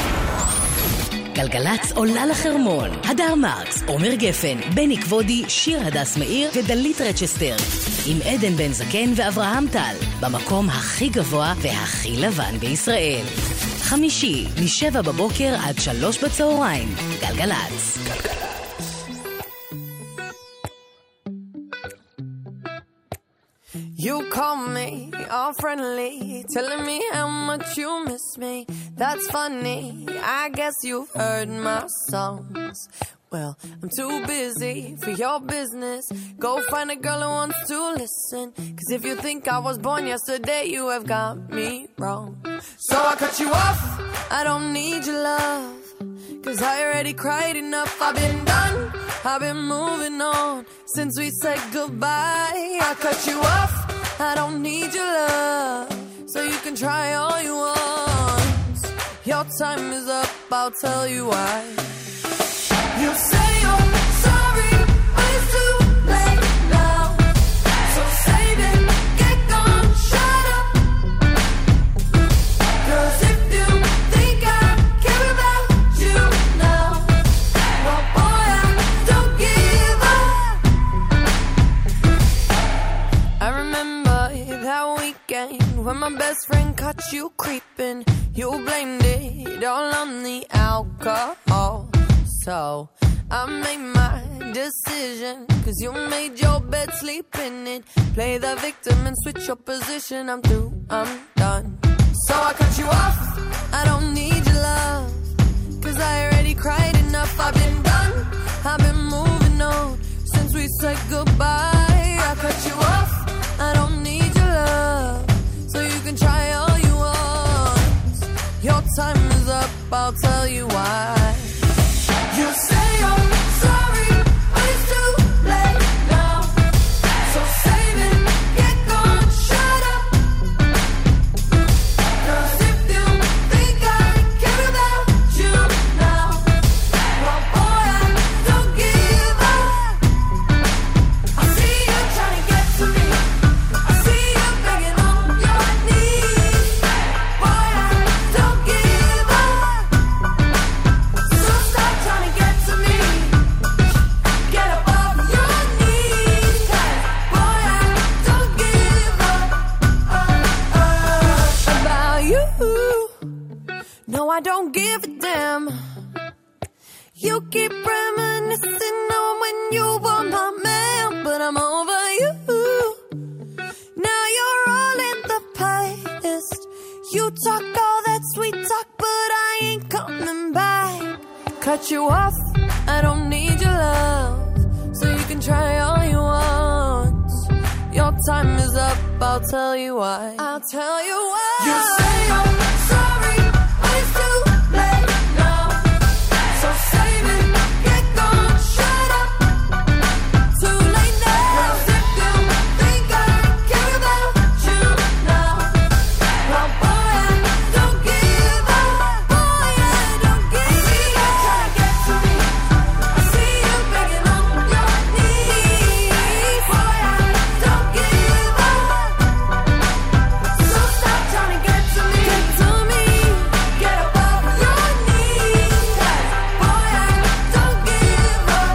גלגלצ עולה לחרמון. הדר מרקס, עומר גפן, בני כבודי, שיר הדס מאיר ודלית רצ'סטר. עם עדן בן זקן ואברהם טל. במקום הכי גבוה והכי לבן בישראל. חמישי, משבע בבוקר עד שלוש בצהריים. גלגלצ. גלגלצ. You call me all friendly, telling me how much you miss me. That's funny, I guess you've heard my songs. Well, I'm too busy for your business. Go find a girl who wants to listen. Cause if you think I was born yesterday, you have got me wrong. So I cut you off, I don't need your love. Cause I already cried enough, I've been done, I've been moving on. Since we said goodbye, I cut you off, I don't need your love. So you can try all you want. Your time is up, I'll tell you why. You say you're sorry, but it's too late now. So save it, get gone, shut up. Cause if you think I care about you now, well boy, I don't give up. I remember that weekend when my best friend caught you creeping. You blamed it all on the alcohol. So I made my decision, cause you made your bed, sleep in it. Play the victim and switch your position. I'm through, I'm done. So I cut you off, I don't need your love. Cause I already cried enough, I've been done, I've been moving on. Since we said goodbye, I cut you off, I don't need your love. So you can try all you want. Your time is up, I'll tell you why. You say you're sorry, but it's too late now. So save it, get gone, shut up. Cause if you think I care about you now, well boy, I don't give up. I see you trying to get to me, I see you begging on your knees. Boy, I don't give up. So stop trying to get to me, get up off your knees. Cause boy, I don't give up uh, uh, about you. No, I don't give a damn. You keep reminiscing on when you were my man, but I'm over you. Now you're all in the past. You talk all that sweet talk, but I ain't coming back. Cut you off, I don't need your love. So you can try all you want. Your time is up, I'll tell you why. I'll tell you why. You say you're sorry, but it's too late now. So save it, get gone, shut up. Too late now. Cause if you think I care about you now, well boy, I don't give up. Boy, I don't give up. Trying to get to me, I see you begging on your knees. Boy, I don't give up. So stop trying to get to me, get to me, get up off your knees. Cause boy, I don't give up.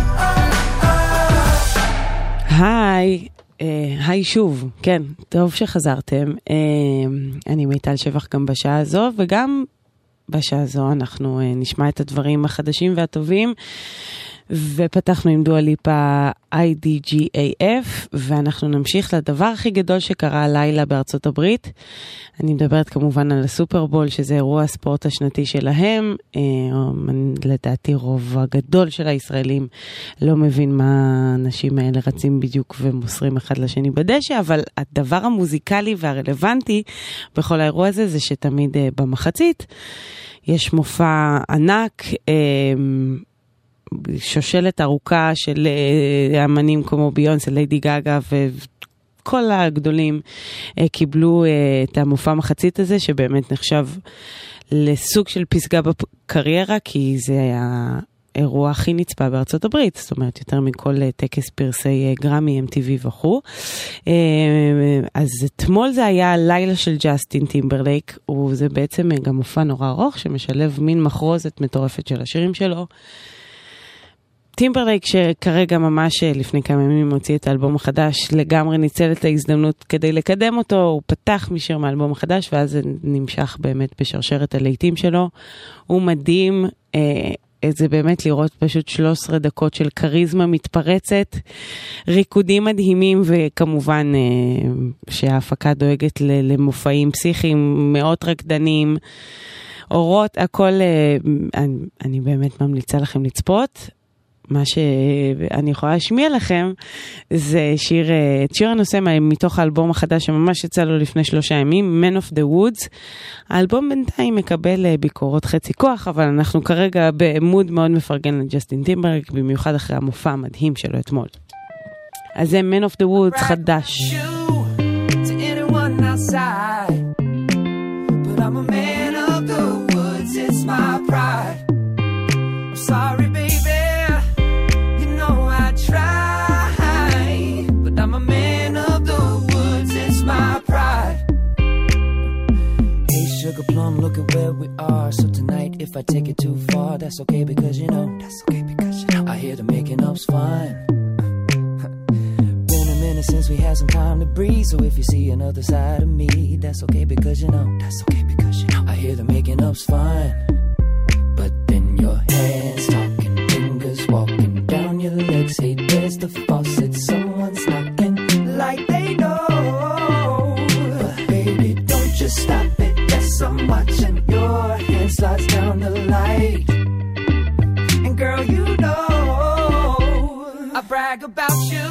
היי, אה, היי שוב, כן, טוב שחזרתם. אה, אני מיטל שבח גם בשעה הזו, וגם בשעה הזו אנחנו אה, נשמע את הדברים החדשים והטובים, ופתחנו עם דואה ליפה איי די ג'י איי אף, ואנחנו נמשיך לדבר הכי גדול שקרה הלילה בארצות הברית. אני מדברת כמובן על הסופרבול, שזה אירוע הספורט השנתי שלהם. אה, לדעתי רוב הגדול של הישראלים לא מבין מה האנשים האלה רצים בדיוק ומוסרים אחד לשני בדשא, אבל הדבר המוזיקלי והרלוונטי בכל האירוע הזה, זה שתמיד אה, במחצית יש מופע ענק, אה, שושלת ארוכה של אמנים כמו ביונסה, ליידי גאגה וכל הגדולים קיבלו את המופע מחצית הזה, שבאמת נחשב לסוג של פסגה בקריירה, כי זה היה האירוע הכי נצפה בארצות הברית, זאת אומרת יותר מכל טקס פרסי גרמי, אם טי וי וכו'. אז אתמול זה היה לילה של ג'סטין טימברלייק, וזה בעצם גם מופע נורא ארוך שמשלב מין מחרוזת מטורפת של השירים שלו. טימברלייק שכרגע ממש לפני כמה ימים מוציא את האלבום החדש, לגמרי ניצל את ההזדמנות כדי לקדם אותו, הוא פתח משיר מהאלבום החדש, ואז זה נמשך באמת בשרשרת הלהיטים שלו. הוא מדהים, אה, זה באמת לראות פשוט שלוש עשרה דקות של קריזמה מתפרצת, ריקודים מדהימים, וכמובן אה, שההפקה דואגת למופעים פסיכיים, מאות רקדנים, אורות, הכל, אה, אני, אני באמת ממליצה לכם לצפות. מה שאני יכולה להשמיע לכם זה שיר, את שיר הנושא מתוך האלבום החדש שממש יצא לו לפני שלושה ימים, Man of the Woods. האלבום בינתיים מקבל ביקורות חצי כוח, אבל אנחנו כרגע במוד מאוד מפרגן לג'סטין טימברלייק, במיוחד אחרי המופע המדהים שלו אתמול. אז זה Man of the Woods חדש. But I'm a man of the woods, it's my pride. I'm sorry, baby, you know I try. But I'm a man of the woods, it's my pride. Hey, sugar plum, look at where we are. So tonight, if I take it too far, that's okay because you know, that's okay because you know, I hear the making up's fine. Since we had some time to breathe, so if you see another side of me, that's okay because you know, that's okay because you know, I hear the making up's fine. But then your hands talking, fingers walking down your legs. Hey, there's the faucet, someone's knocking like they know. But baby, don't just stop it. Yes, I'm watching. Your hand slides down the light, and girl, you know I brag about you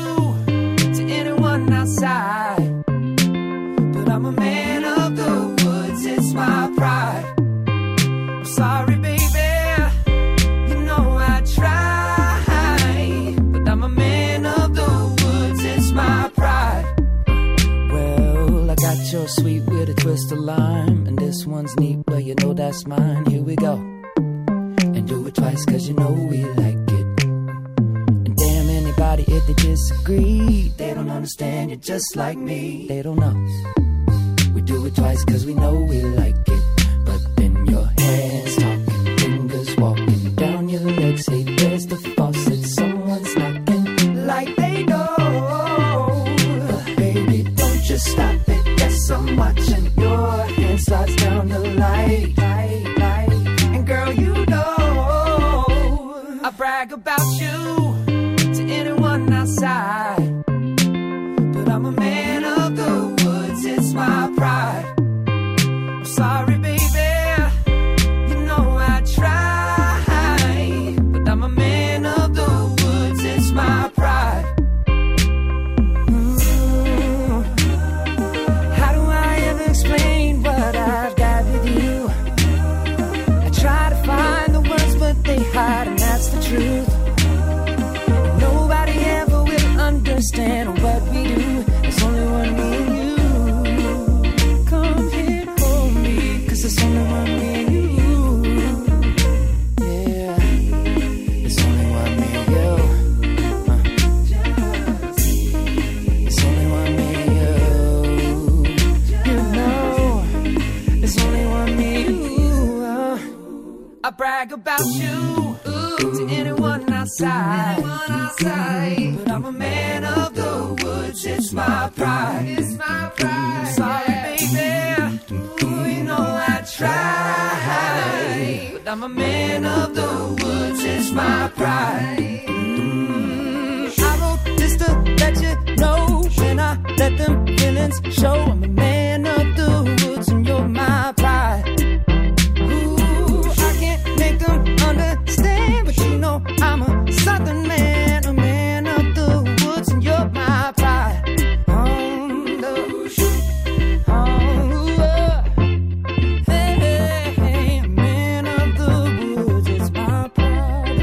outside, but I'm a man of the woods, it's my pride. I'm sorry, baby, you know I try, but I'm a man of the woods, it's my pride. Well, I got your sweet with a twist of lime, and this one's neat, well, you know that's mine. Here we go, and do it twice, cause you know we like it. If they disagree, they don't understand you just like me. They don't know. We do it twice cause we know we like it. But then your hands talking, fingers walking down your legs. Hey, there's the faucet, someone's knocking like they know. But baby, don't just stop it. Yes, I'm watching. Your hand slides down the light, light, light. And girl, you know I brag about you outside, but I'm a man of the woods, it's my pride. I'm sorry, baby, you know I try, but I'm a man of the woods, it's my pride. Mm. How do I ever explain what I've got with you? I try to find the words, but they hide, and that's the truth. Understand what we do. It's only one me and you. Come here, hold me, cause it's only one me and you. Yeah, it's only one me and you. Uh. It's only one me and you. You know, it's only one me and you. Uh. I brag about you to anyone outside, anyone outside. But I'm a man of the woods, it's my pride, it's my pride. Sorry, baby, ooh, you know I try, but I'm a man of the woods, it's my pride. Mm, I wrote this to let you know, when I let them feelings show, I'm a man of the woods and you're my pride. Ooh, I can't make them understand, but you know I'm a southern man, a man of the woods, and you're my pride. On the oh, hey, hey, hey, man of the woods, it's my pride.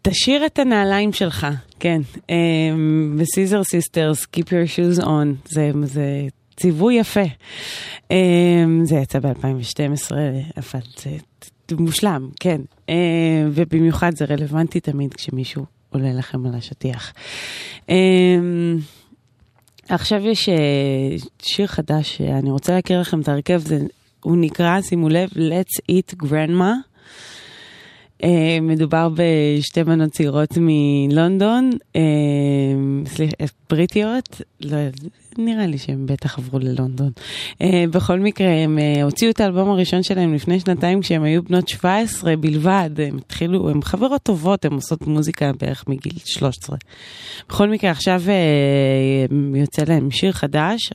תשאיר את הנעליים שלך, כן. בסיזר סיסטרס, Keep Your Shoes On, זה, זה ציווי יפה. זה יצא ב-אלפיים ושתים עשרה, אבל זה מושלם, כן. ובמיוחד זה רלוונטי תמיד כשמישהו עולה לכם על השטיח. עכשיו יש שיר חדש, שאני רוצה להכיר לכם את הרכב, זה, הוא נקרא, שימו לב, Let's Eat Grandma. מדובר בשתי בנות צעירות מלונדון, סליחה, בריטיות, לא, נראה לי שהם בטח עברו ללונדון. בכל מקרה, הם הוציאו את האלבום הראשון שלהם לפני שנתיים, כשהם היו בנות שבע עשרה בלבד, הם התחילו, הם חברות טובות, הם עושות מוזיקה בערך מגיל שלוש עשרה. בכל מקרה, עכשיו יוצא להם שיר חדש,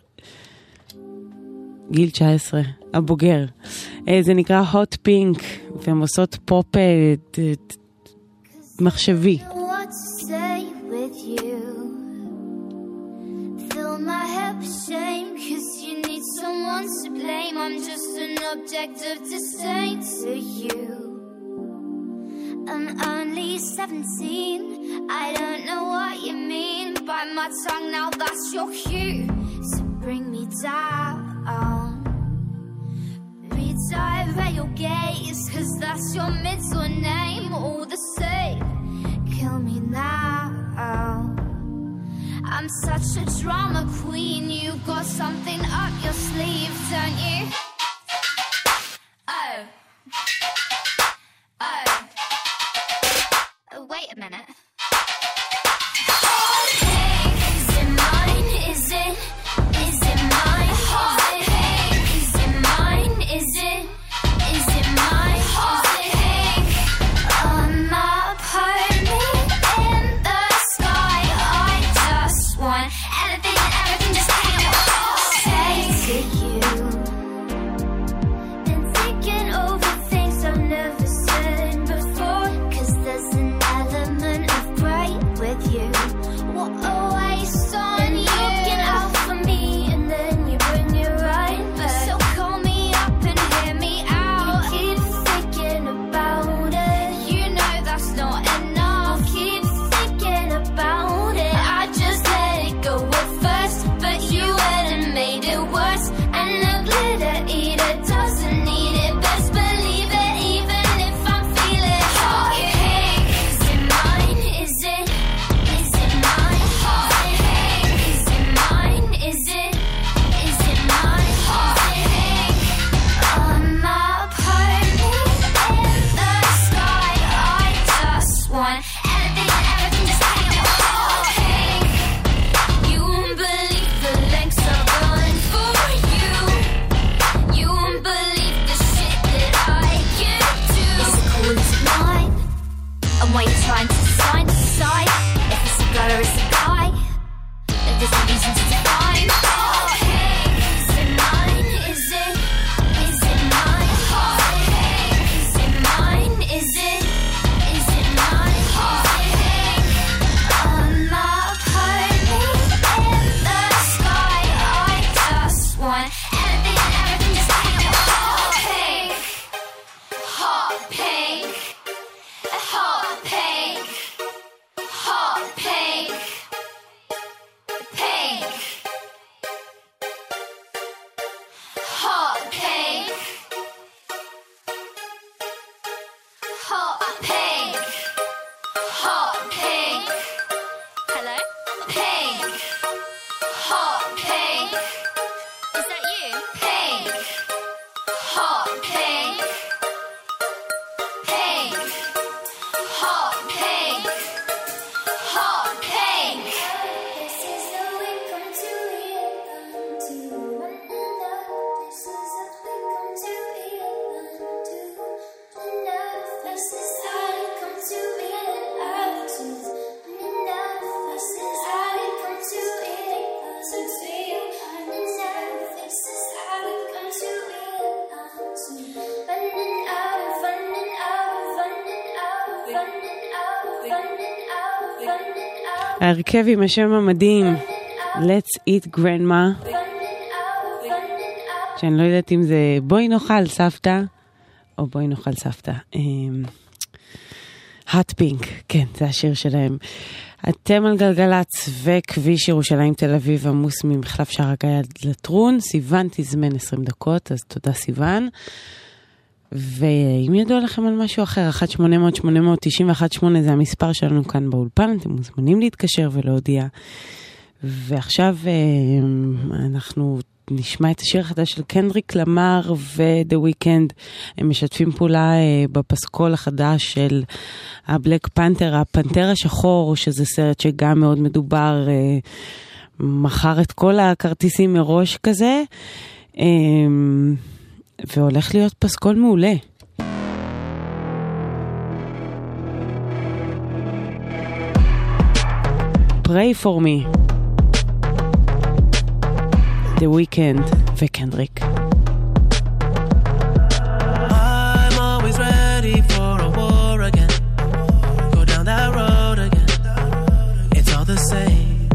גיל תשע עשרה, הבוגר. זה נקרא Hot Pink, והם עושות פופ מחשבי. What to say with you? Fill my head with shame, cause you need someone to blame. I'm just an object of disdain to you. I'm only seventeen, I don't know what you mean. Bite my tongue now, that's your cue. So bring me down. Redirect your gaze, cause that's your middle name. All the same, kill me now. I'm such a drama queen. You got something up your sleeve, don't you? Oh. Oh. Oh, wait a minute. Is it mine? Is it? Is it mine? Hot pink. Is it mine? Is it? Is it mine? Hot pink. On my pony in the sky. I just want anything and everything, just take it all. Say to you. Been thinking over things I've never said before. Cause there's an element of bright with you. What a waste on you. Looking out for me and then you bring it right back. So call me up and hear me out. You keep thinking about it. You know that's not enough. Keep thinking about it. I just let it go at first, but you went and made it worse. And the glitter eater doesn't need it. Best believe it, even if I'm feeling hot pink. Is it mine? Is it? Is it mine? Hot pink. Is it mine? Is it? Is it mine? Hot pink. On my pony in the sky. I just want anything and everything, just take it all. Pink. You won't believe the lengths I've gone for you. You won't believe the shit that I can do. Is it cool? Is it mine? And why you trying to decide, decide if it's a girl or it's a guy? If there's no reason to define. Oh, hey, is it mine? Is it? Is it mine? Oh, hey, is it mine? Is it? Is it mine? Oh, hey, on my pony in the sky. I just want anything and everything, just take it all. Pink, hot pink, hot pink, hot pink, pink, hot pink, hot pink, hot pink. Hello? Pink, hot pink. Is that you? Pink, hot pink, pink, hot pink, hot pink. This is the way come to it, to one another. This is the way come to it, to one another. This is how it come to it, to one another. This is how it come to it, to you, one another. This is how it come to it, to running out, running out, running out, running out, running out, running out. ההרכב עם השם המדהים, Let's Eat Grandma, שאני לא יודעת אם זה בואי נאכל סבתא, או בואי נאכל סבתא. hot pink, כן, זה השיר שלהם. אתם על גלגלץ וכביש ירושלים תל אביב עמוס ממחלף שער הגיא עד לטרון. סיוון תזמן עשרים דקות, אז תודה סיוון. ואם ידוע לכם על משהו אחר, אחת שמונה אפס אפס שמונה תשע אחת שמונה זה המספר שלנו כאן באולפן, אתם מוזמנים להתקשר ולהודיע. ועכשיו אנחנו נשמע את השיר החדש של קנדריק למר ו-The Weeknd. הם משתפים פעולה בפסקול החדש של הבלק פנתר, הפנתר השחור, שזה סרט שגם מאוד מדובר, מחר את כל הכרטיסים מראש כזה, והולך להיות פסקול מעולה. Pray for me. The Weeknd וקנדריק. I'm always ready for a war again. Go down that road again. It's all the same.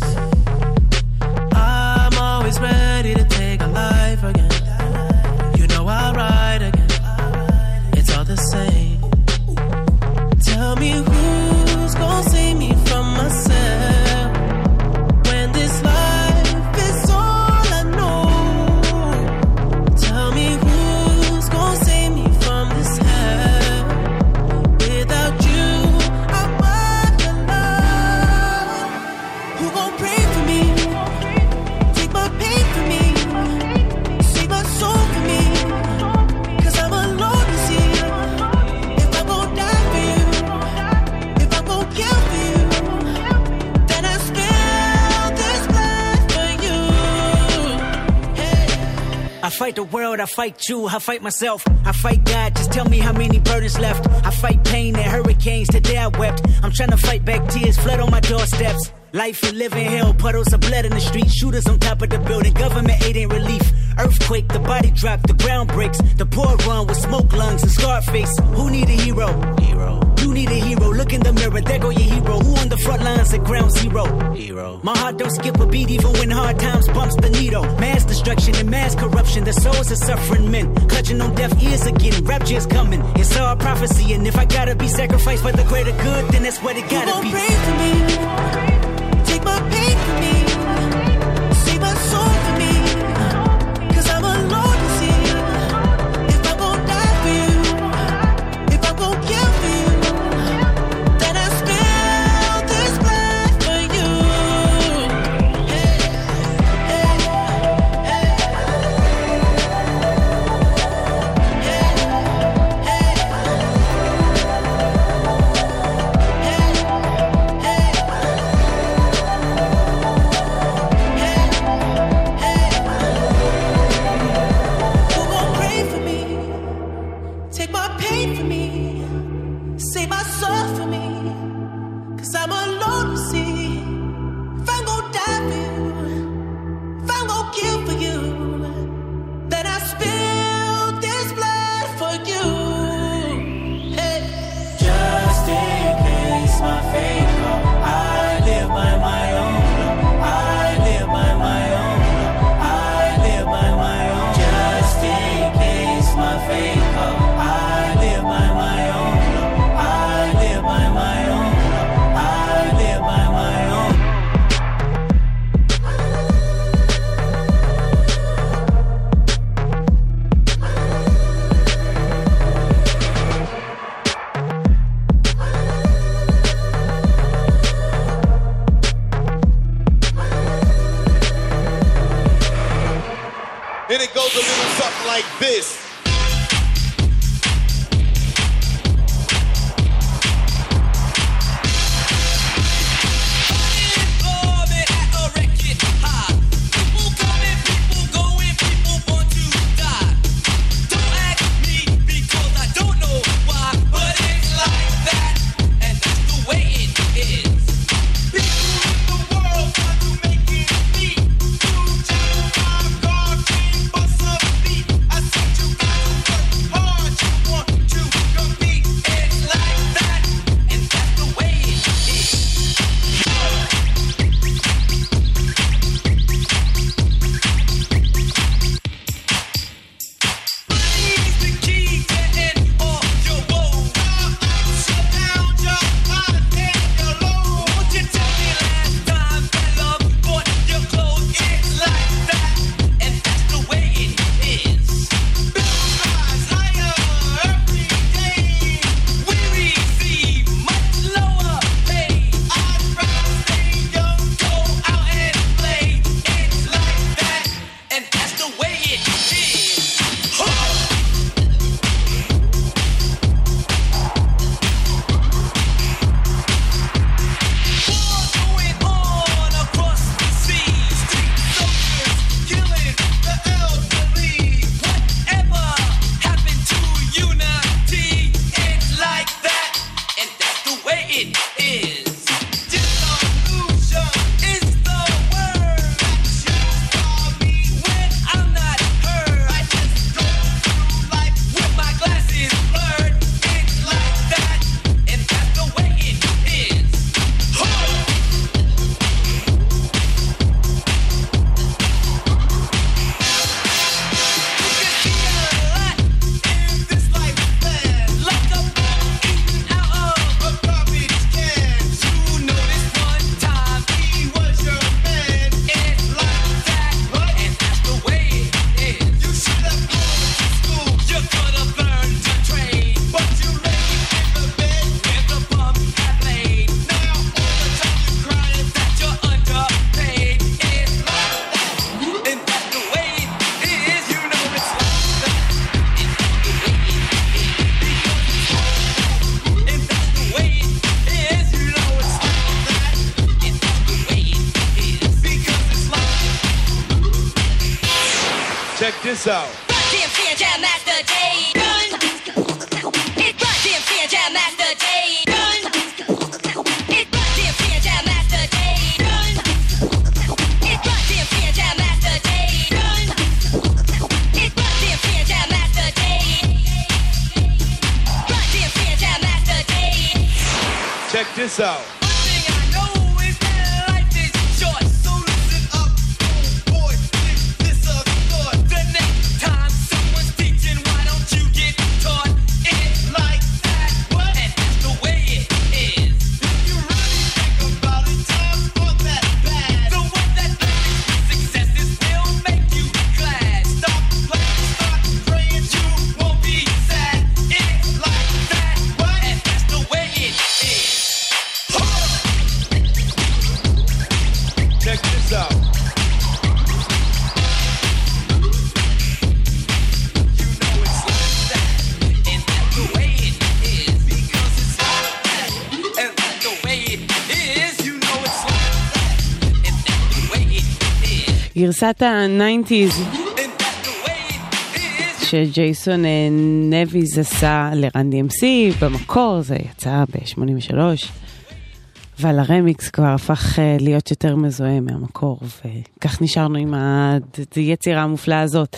I'm always ready to take a life again. You know I'll ride again. It's all the same. Tell me who's gonna save me from myself when this life is all I know. Tell me who's gonna save me from this hell. Without you, I'm alone. Who gon' pray for me? Take my pain for me. Save my soul for me. 'Cause I'm alone to see. If I'm gon' die for you, if I'm gon' kill for you, then I spill this blood for you. I fight the world, I fight you, I fight myself, I fight God, just tell me how many burdens left. I fight pain and hurricanes, today I wept. I'm trying to fight back tears, flood on my doorsteps. Life you live in hell, puddles of blood in the street, shooters on top of the building, government aid ain't relief. Earthquake, the body drop, the ground breaks, the poor run with smoke lungs and scarred face. Who need a hero? Hero. You need a hero, look in the mirror, there go your hero. Who on the front lines at ground zero? Hero. My heart don't skip a beat even when hard times bumps the needle. Mass destruction and mass corruption, the souls of suffering men, clutching on deaf ears again, rapture's coming. It's all prophecy, and if I gotta be sacrificed for the greater good, then that's what it gotta be. Who gon' pray for me? Take my pain for me. Save my soul for me. 'Cause I'm alone to see. If I'm gon' die for you, if I'm gon' kill for you, then I spill this blood for you. Hey, hey, hey. Who gon' pray for me? Take my pain for me. Save my soul for me. 'Cause I'm alone to see. If I'm gon' die for you, if I'm gon' kill for you, then I spill this blood for you. Hey. Just in case my fate come, I live by my own law. I live by my own law. I live by my own. Just in case my fate come, I live by my own law. I live by my own law. I live by my own. And it goes a little something like this. You got Check this out. Run D M C and Jam Master Jay. Run. It's Run D M C and Jam Master Jay. Run. It's Run D M C and Jam Master Jay. Run. It's Run D M C and Jam Master Jay. Run. It's Run D M C and Jam Master Jay. Run D M C and Jam Master Jay. Check this out. גרסת ה-תשעים שג'ייסון נביז עשה לרן די אם סי, במקור זה יצא ב-שמונים ושלוש, אבל הרמיקס כבר הפך להיות יותר מזוהה מהמקור, וכך נשארנו עם היצירה המופלאה הזאת.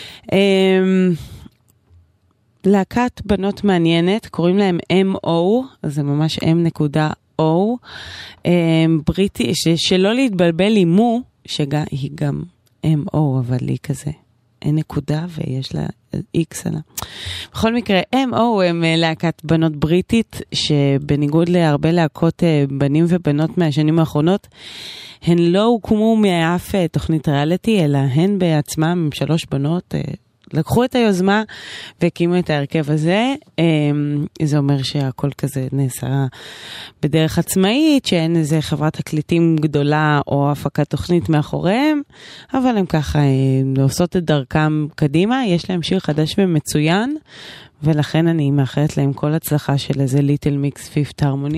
להקת בנות מעניינת, קוראים להם אם או, זה ממש אם.או, בריטי, שלא להתבלבל עם מו, שהיא גם אם או, אבל היא כזה, אין נקודה ויש לה איקס עלה. בכל מקרה, אם או הם להקת בנות בריטית, שבניגוד להרבה להקות בנים ובנות מהשנים האחרונות, הן לא הוקמו מאף תוכנית ריאליטי, אלא הן בעצמם, עם שלוש בנות, לקחו את היוזמה והקימו את ההרכב הזה. זה אומר שהכל כזה נעשה בדרך עצמאית, שאין איזה חברת תקליטים גדולה או הפקת תוכנית מאחוריהם, אבל הם ככה עושות את דרכם קדימה. יש להם שיר חדש ומצוין, ולכן אני מאחלת להם כל הצלחה של איזה ליטל מיקס פיפט הרמוני.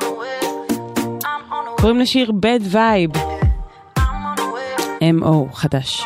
קוראים לשיר Bad Vibe, אם או חדש.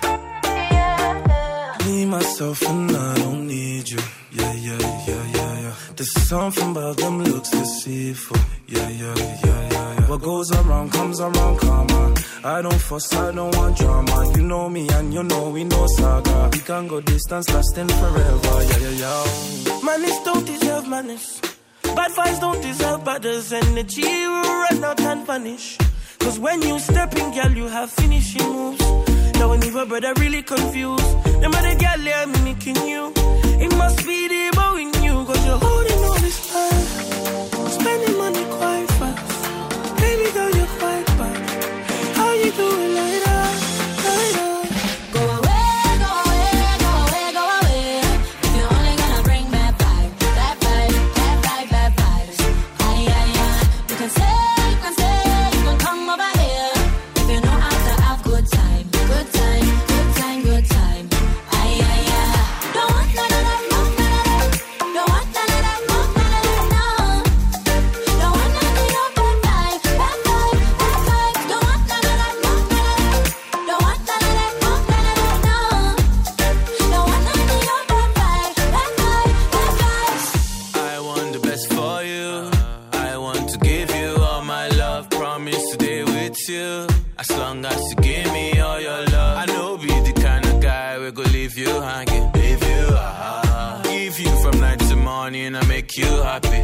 Myself and I don't need you. Yeah, yeah, yeah, yeah, yeah. There's something about them looks deceitful. Yeah, yeah, yeah, yeah, yeah. What goes around comes around, come on. I don't fuss, I don't want drama. You know me and you know we know saga. We can go distance lasting forever. Yeah, yeah, yeah. Manners don't deserve manners. Bad vibes don't deserve badders. Energy will run out and vanish. Cause when you step in, girl, you have finishing moves. Now when your brother really confused, them other girl they are mimicking you. It must be the bow in you, cause you're holding all this time, spending money quite fast. Baby girl, you're quite bad. How you doing like that, like that? Go away, go away, go away, go away. If you're only gonna bring bad vibes, bad vibes, bad vibes, bad vibes. Ay, ay, ay. You can say, you can say, you can come over here. If you know how to have good time. Good time, good time, good time. Ay, ay, ay. Don't want none of that, no, none of that. Don't want none of that, no, none of that, no. Don't want none of your bad vibes, bad vibes, bad vibes. Don't want none of that, no, none of that. Don't want none of that, no, none of that, no. Don't want none of your bad vibes, bad vibes, bad vibes. I want the best for you. I want to give you all my love. Promise to stay with you as long as you give me all your love. I know be the kind of guy we go leave you hanging, leave you, ah, give you from night to morning and make you happy.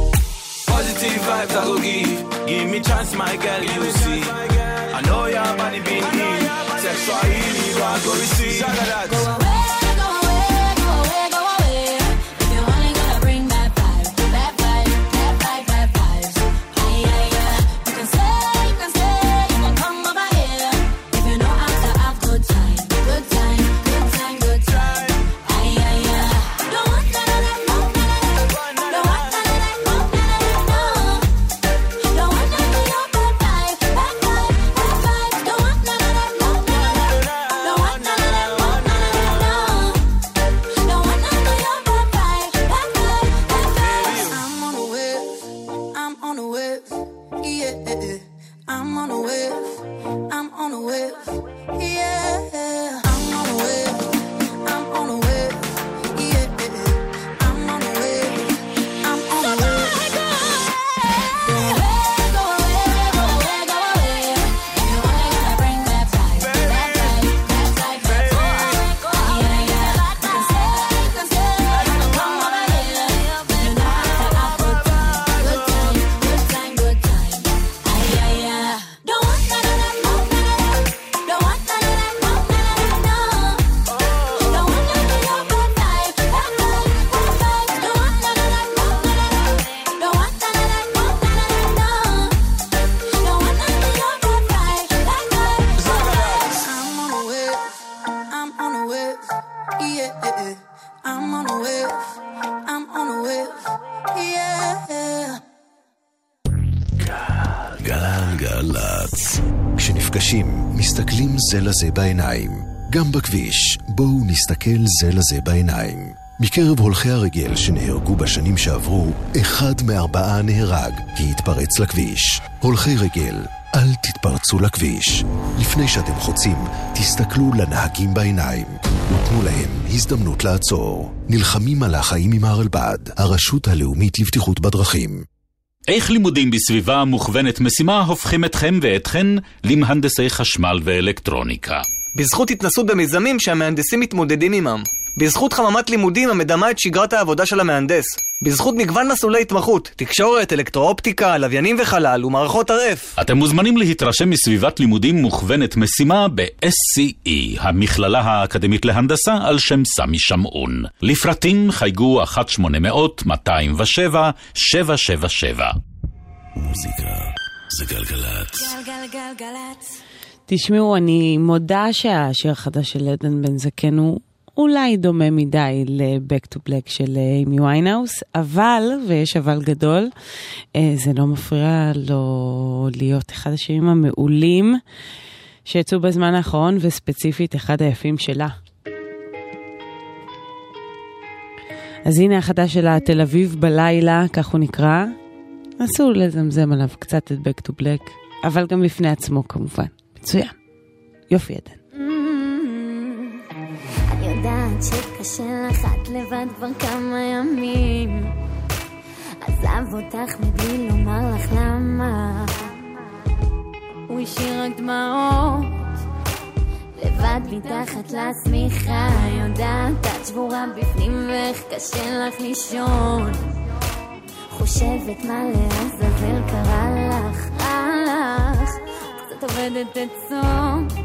Positive vibes I go give, give me chance, my girl, you see. I know your body been in, sexual healing, you are go receive. Go away, go away, go away, go away. If you're only gonna bring bad vibes, bad vibes, bad vibes, bad vibes. Ay, ay, ay. You can say, you can say, you can come over here. If you know how to have good time, good time, good time, good time. Ay, ay, ay. Don't want none of that, no, none of that. Don't want none of that, no, none of that, no. Don't want none of your bad vibes, bad vibes, bad vibes. Don't want none of that, no, none of that. Don't want none of that, no, none of that. נפגשים, מסתכלים זה לזה בעיניים. גם בכביש, בואו נסתכל זה לזה בעיניים. מקרב הולכי הרגל שנהרגו בשנים שעברו, אחד מארבעה נהרג כי התפרץ לכביש. הולכי רגל, אל תתפרצו לכביש. לפני שאתם חוצים, תסתכלו לנהגים בעיניים ותנו להם הזדמנות לעצור. נלחמים על החיים עם הרלב"ד, הרשות הלאומית לבטיחות בדרכים. איך לימודים בסביבה מוכוונת משימה הופכים אתכם ואתכן למהנדסי חשמל ואלקטרוניקה? בזכות התנסות במיזמים שהמהנדסים מתמודדים עמם. בזכות חממת לימודים המדמה את שגרת העבודה של המהנדס. בזכות מגוון מסלולי התמחות, תקשורת, אלקטרואופטיקה, לוויינים וחלל ומערכות אר אף. אתם מוזמנים להתרשם מסביבת לימודים מוכוונת משימה ב-אס סי אי, המכללה האקדמית להנדסה על שם סמי שמעון. לפרטים חייגו אחת שמונה אפס אפס מאתיים ושבע שבע שבע שבע. מוזיקה זה גלגלת. גלגלגלגלת. תשמעו, אני מודה שהשיר החדש של עדן בן זקן הוא אולי דומה מדי ל-Back to Black של אימי ויינהאוס, אבל, ויש אבל גדול, זה לא מפריע לו להיות אחד השירים המעולים שיצאו בזמן האחרון, וספציפית אחד היפים שלה. אז הנה החדש שלה, תל אביב בלילה, כך הוא נקרא. נסו לזמזם עליו קצת את Back to Black, אבל גם לפני עצמו כמובן. מצוין. יופי עדן. יודעת שקשה לך את לבד כבר כמה ימים, עזב אותך מבלי לומר לך למה, הוא השאיר רק דמעות לבד מתחת לשמיכה. יודעת את שבורה בפנים ואיך קשה לך לישון, חושבת מה לעזאזל קרה לך, הלך קצת עובדת את סוף.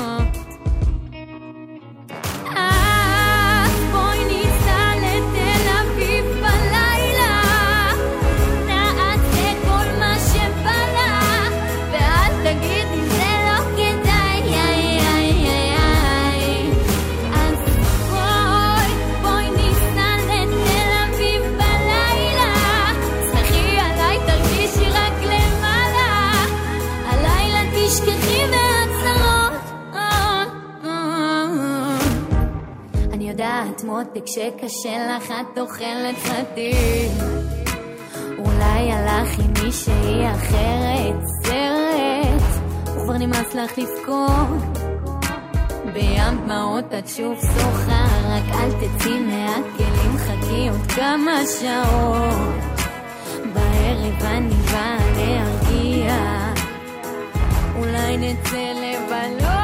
מותק שקשה לך את אוכלת חתים, אולי הלך עם מישהי אחרת סרט, וכבר נמאס לך לבכות בים דמעות את שוב שוחה, רק אל תצאי מהכלים, חכי עוד כמה שעות, בערב אני באה להרגיע, אולי נצא לבלות.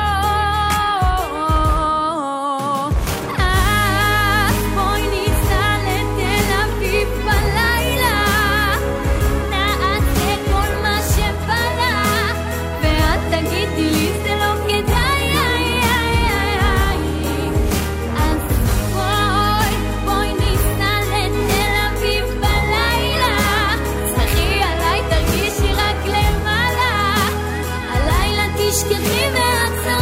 תשכחי מעצמך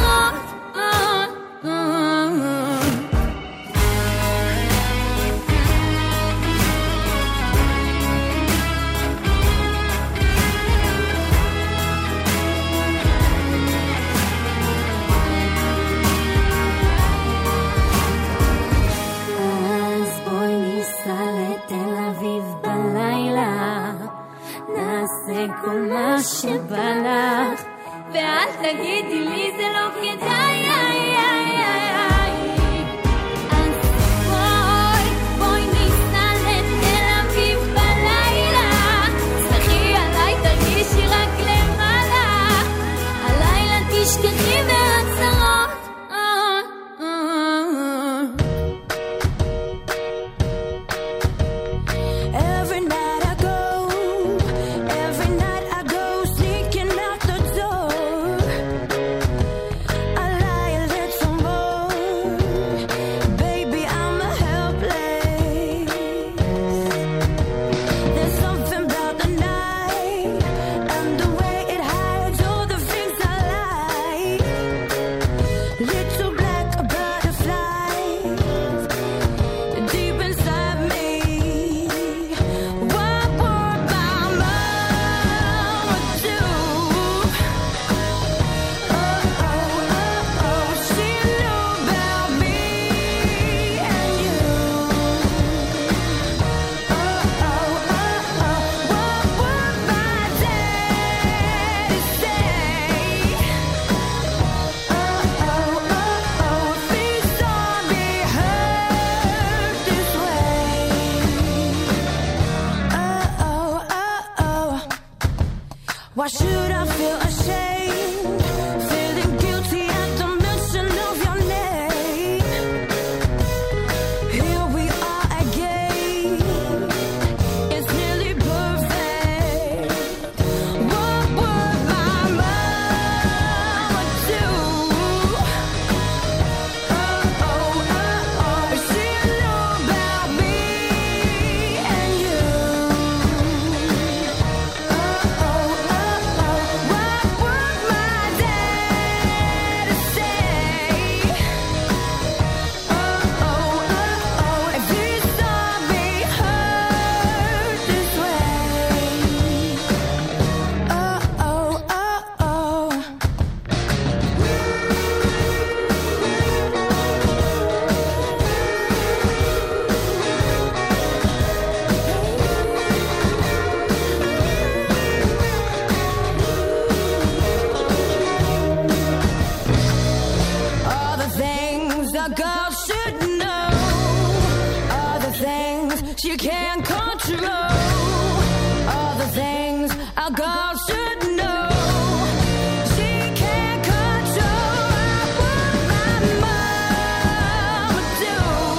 a girl should know all the things she can't control. All the things a girl should know. She can't control what my mom would do.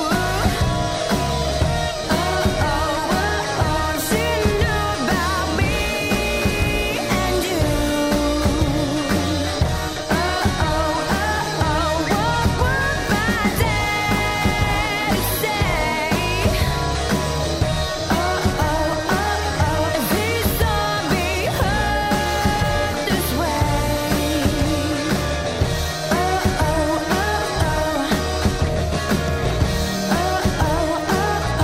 Oh, oh, oh, oh, she knew about me and you. Oh, oh, oh, oh, what would my daddy say? Oh, oh, oh, oh, if he saw me hurt this way. Oh, oh, oh, oh. Oh, oh,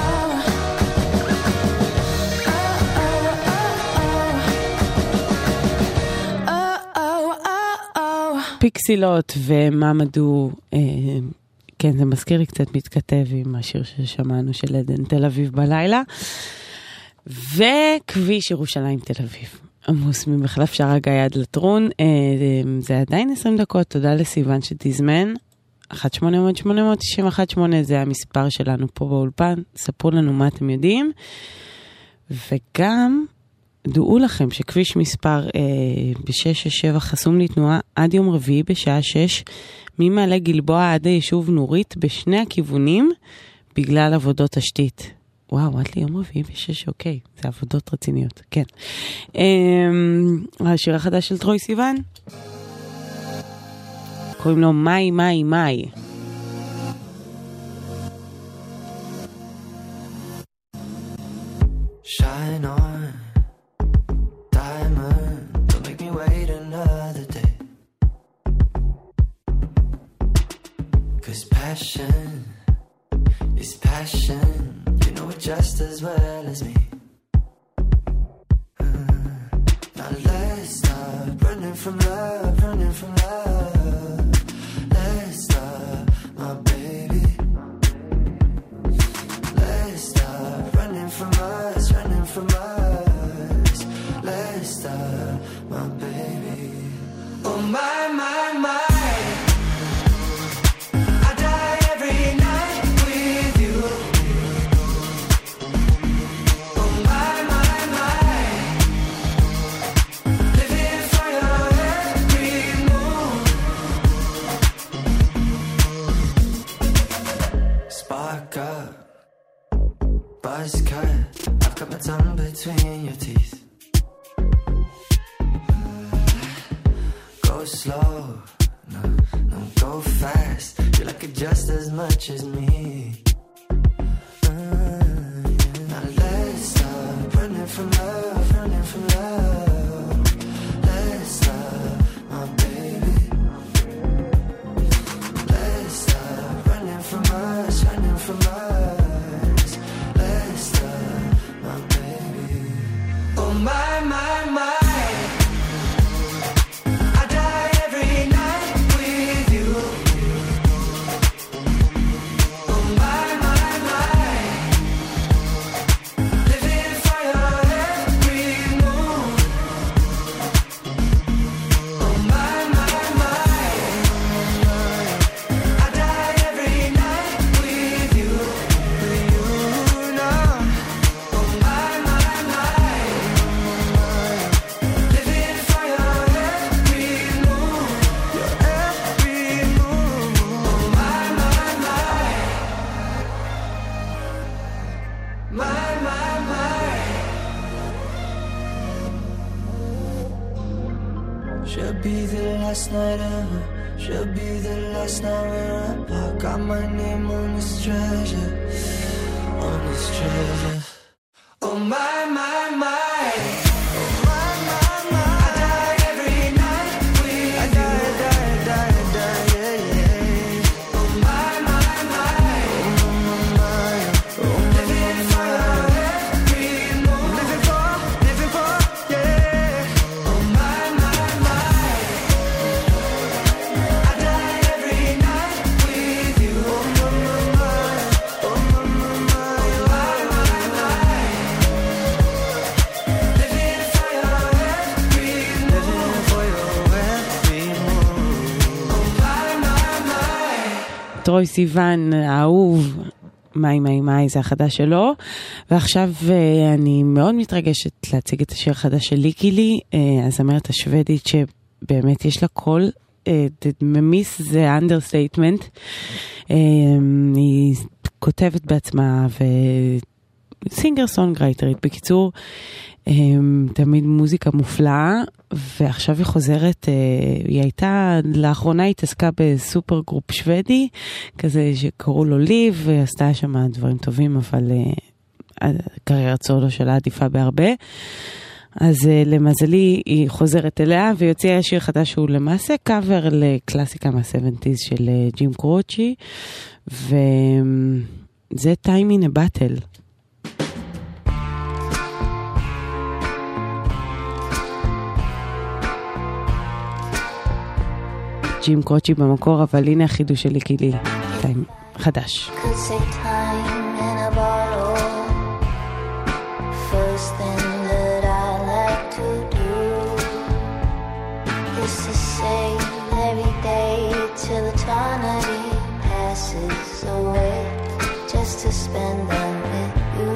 פיקסילות וממדו, אה, כן, זה מזכיר לי קצת מתכתב עם השיר ששמענו של עדן תל אביב בלילה, וכביש ירושלים תל אביב. עמוס ממחלף שער גיא עד לטרון, אה, זה עדיין עשרים דקות, תודה לסיוון שתזמן, אחת שמונה אפס אפס שמונה תשע אחת שמונה זה המספר שלנו פה באולפן, ספרו לנו מה אתם יודעים, וגם דעו לכם שכביש מספר אה, ב-שש שש שבע חסום לתנועה עד יום רביעי בשעה שש, ממעלה גלבוע עד היישוב נורית בשני הכיוונים, בגלל עבודות תשתית. וואו, עד לי יום רביעי בשש, אוקיי, זה עבודות רציניות, כן. אה, השיר החדש של טרוי סיוון, קוראים לו מאי מאי מאי. Shine on, diamond, don't make me wait another day. 'Cause passion is passion, you know it just as well as me. Uh, now let's stop running from love, running from love. Let's stop, my baby. Let's stop running from us, running from us. Let's stop, my baby. Oh my, my, my. I die every night with you. Oh my, my, my. Living for your every move. Spark up, buzz cut. I've got my tongue between your teeth. Go slow, no, no, go fast. You like it just as much as me. Uh, yeah. Now let's stop running from love, running from love. Let's stop, my baby. Let's stop running from us, running from us. Let's stop, my baby. Oh my, my, my. I die every night with you. Oh my, my, my. Living for your every move. Oh my, my, my. I die every night with you, with you now. Oh my, my, my. Living for your every move, your every move. Oh my, my, my. My, my, my. Should be the last night ever. Should be the last night we're apart. Got my name on this treasure, on this treasure. Oh my, my, my. Oh my, my, my. I die every night with you. I die, I die, I die, I die, yeah, yeah. Oh my, my, my. Oh my, my. Oh living for your every move. Living for, living for, yeah. Oh my, my, my. I die every night with you. Oh my, my, my. Oh my, my, my. Oh my, my, my. טרוי סיוון האהוב, מאי מאי מאי זה החדש שלו, ועכשיו אני מאוד מתרגשת להציג את השיר החדש של ליקילי, הזמרת השוודית שבאמת יש לה קול, ממיס זה אנדרסטייטמנט, היא כותבת בעצמה וסינגר סונגרייטרית, בקיצור תמיד מוזיקה מופלאה, ועכשיו היא חוזרת, היא הייתה, לאחרונה התעסקה בסופר גרופ שוודי, כזה שקראו לו ליב, ועשתה שם דברים טובים, אבל הקריירת סולו שלה עדיפה בהרבה. אז למזלי היא חוזרת אליה, ויוציא שיר חדש שהוא למעשה קאבר לקלאסיקה מה-שבעים של ג'ים קרוצ'י, וזה Time in a Battle. ג'ים קרוצ'י במקור, אבל הנה החידוש שלי כאילו טיים חדש. First thing that I like to do is to say every day till eternity passes away, just to spend them with you.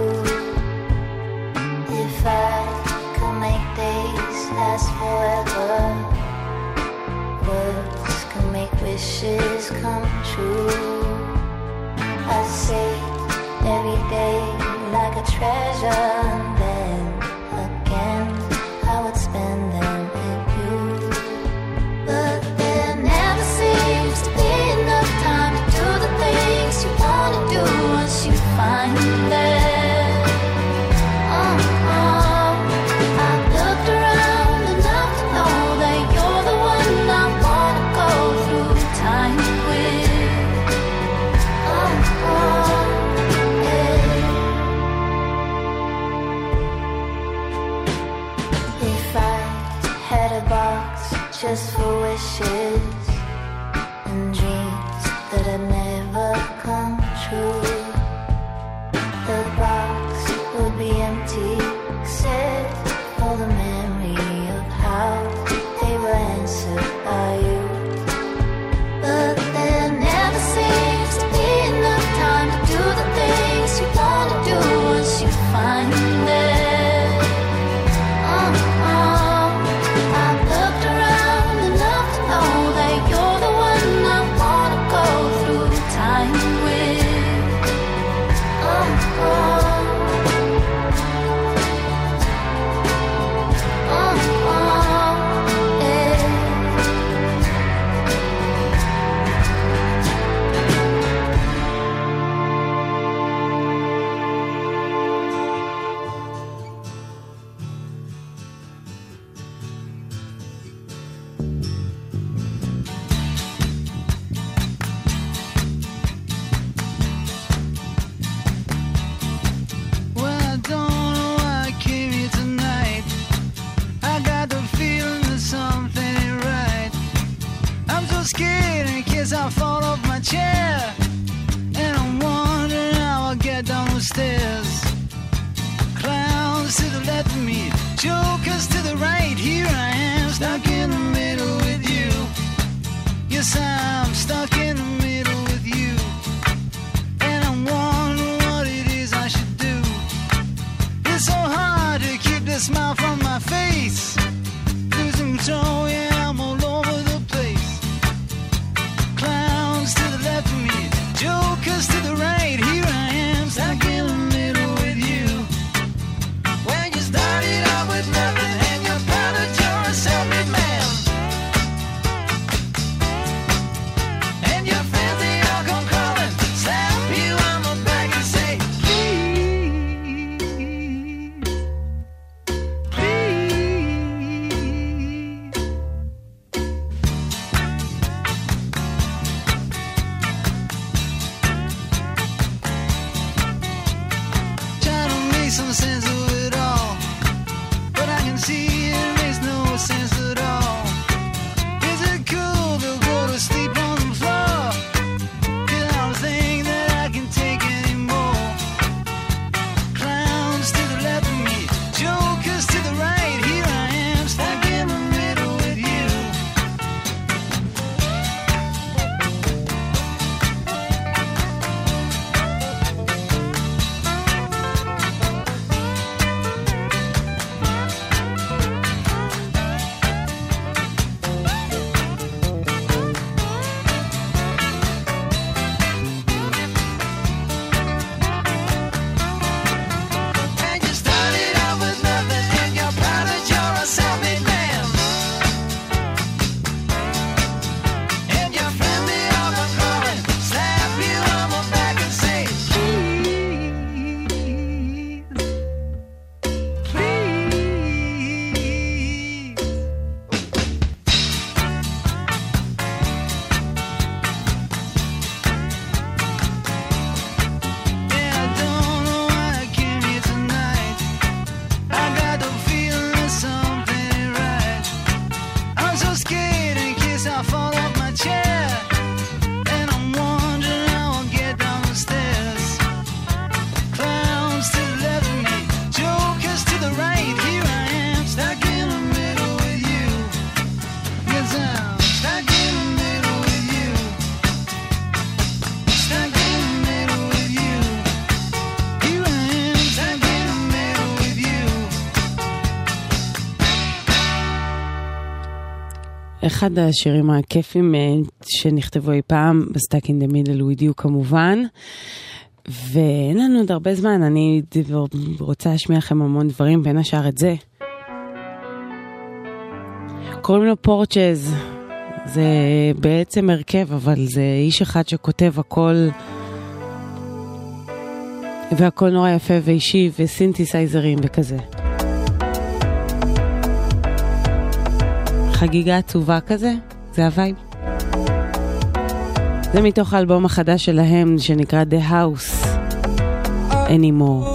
If I could make days last forever, words can make wishes come true. I say every day like a treasure, and then again I would spend them with you. But there never seems to be enough time to do the things you want to do once you find them. Oh, oh, I've looked around enough to know that you're the one I want to go through time with. Oh, oh, yeah. If I had a box just for wishes and dreams that had never come true, the box would be empty except for the memory of how they were answered by you. But there never seems to be enough time to do the things you want to do once you find them. Oh, oh, I've looked around enough to know that you're the one I want to go through time with. Oh, oh, oh, oh, yeah. Well, I don't know why I came here tonight. I got the feeling that something ain't right. I'm so scared in case I fall off my chair, and I'm wondering how I'll get down the stairs. Clowns to the left of me, jokers to the right. Here I am, stuck in the middle with you. Yes, I'm stuck in the middle with you, and I'm wondering what it is I should do. It's so hard to keep the smile from my face. Losing control, yeah, I'm all over the place. Clowns to the left of me, jokers to the right. Here I am, stuck in the middle with you. When you started out with nothing, and you're proud that you're a self-made man, and your friends, they all come crawling, slap you on the back and say, please, please. Try to make some sense of it all, but I can see it makes no sense at all. Is it cool to go to sleep on the floor? 'Cause I don't think that I can take anymore. Clowns to the left of me, jokers to the right. Here I am, stuck in the middle with you. אחד השירים הכיפים שנכתבו אי פעם, בסטאק אין דה מידל with you כמובן, ואין לנו עוד הרבה זמן, אני רוצה להשמיע לכם המון דברים, בין השאר את זה. קוראים לו פורצ'ז, זה בעצם הרכב, אבל זה איש אחד שכותב הכל, והכל נורא יפה ואישי, וסינתסייזרים וכזה. חגיגה עצובה כזה, זה הווייב. זה מתוך האלבום החדש שלהם שנקרא The House Anymore.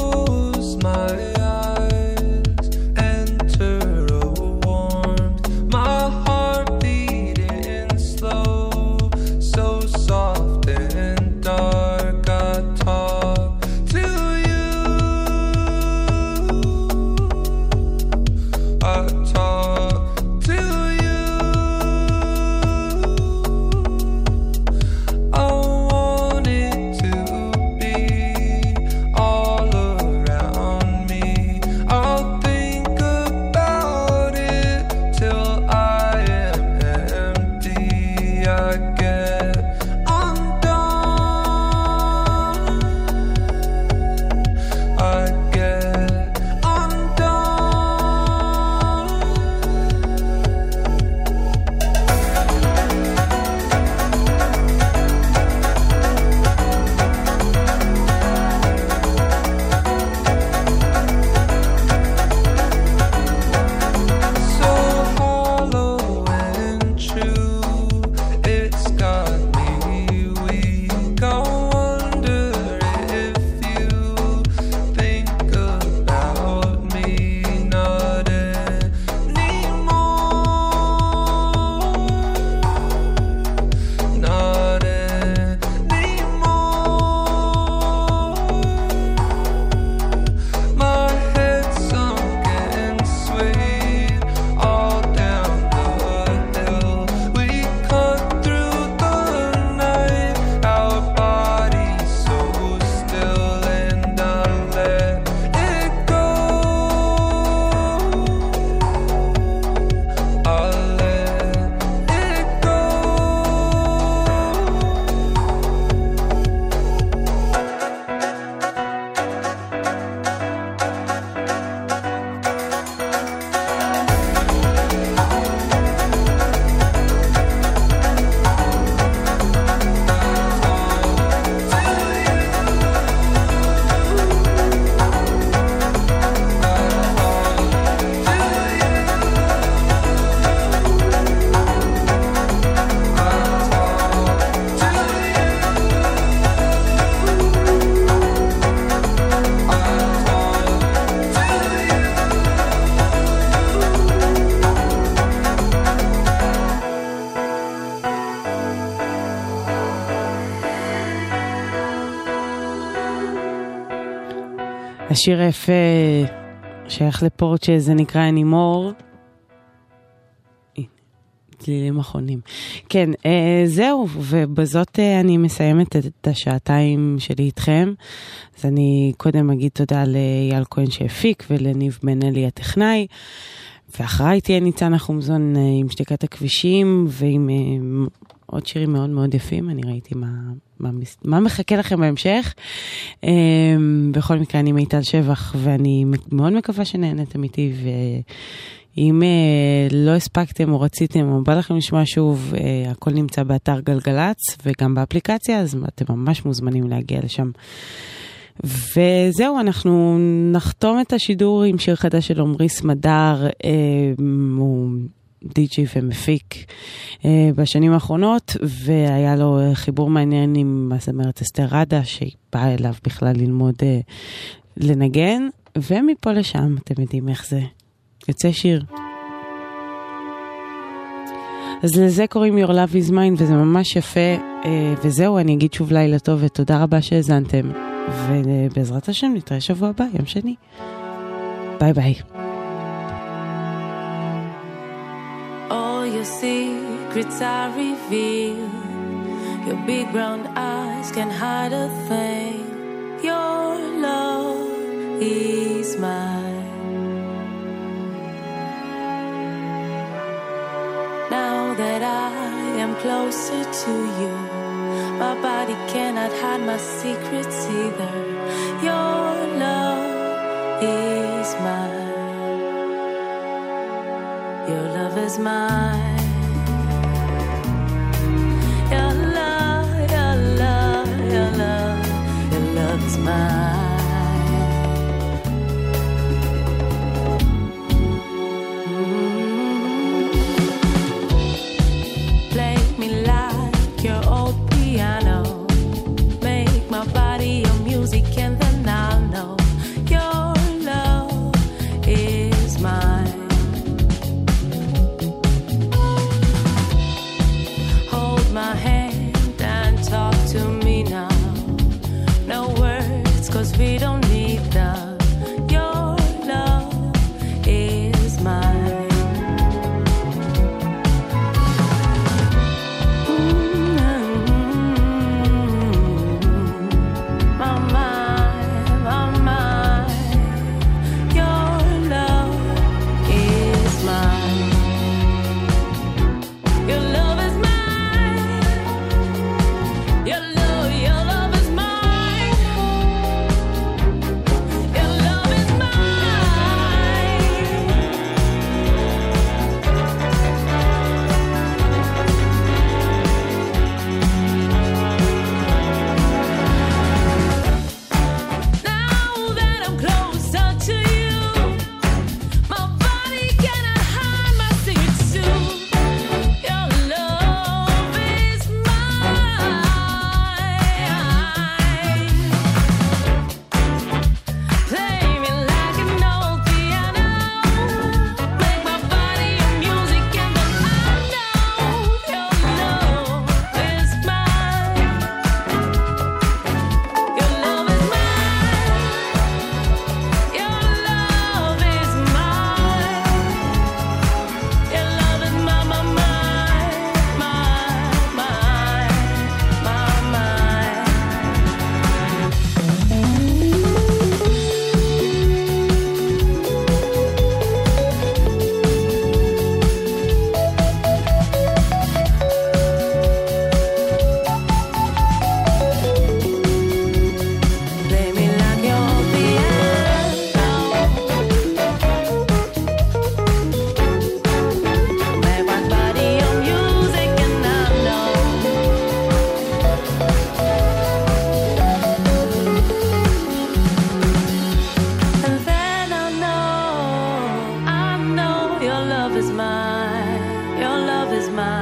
השיר היפה שייך לפורצ'ה, זה נקרא Anymore. צלילים אחרונים. כן, אה, זהו, ובזאת אה, אני מסיימת את השעתיים שלי איתכם. אז אני קודם אגיד תודה לאייל כהן שהפיק ולניב בן אלי הטכנאי. ואחריי תהיה ניצן חומזון אה, עם שתיקת הכבישים ועם אה, עוד שירים מאוד מאוד יפים. אני ראיתי מה, מה, מה מחכה לכם בהמשך. אה, בכל מקרה אני מיטל שבח ואני מאוד מקווה שנהנתם איתי ו... אם uh, לא הספקתם או רציתם או בא לכם לשמוע שוב, uh, הכל נמצא באתר גלגלץ וגם באפליקציה, אז אתם ממש מוזמנים להגיע לשם. וזהו, אנחנו נחתום את השידור עם שיר חדש של עומרי סמדר, uh, הוא די-ג'יי ומפיק uh, בשנים האחרונות, והיה לו חיבור מעניין עם הזמרת אסתר רדה, שהיא באה אליו בכלל ללמוד uh, לנגן, ומפה לשם, אתם יודעים איך זה. יוצא שיר. אז לזה קוראים Your Love is Mine, וזה ממש יפה, וזהו, אני אגיד שוב לילה טוב, ותודה רבה שהזנתם, ובעזרת השם נתראה שבוע הבא, יום שני. ביי ביי. All your secrets are revealed. Your big brown eyes can hide a thing. Your love is mine. Now that closer to you. My body cannot hide my secrets either. Your love is mine. Your love is mine. Your love, your love, your love, your love is mine. We don't need them. Your love is mine. Mm-hmm. My mind, my mind. Your love is mine. Your love is mine. Your love, your love is mine.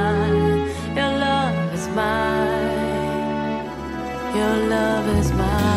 Your love is mine.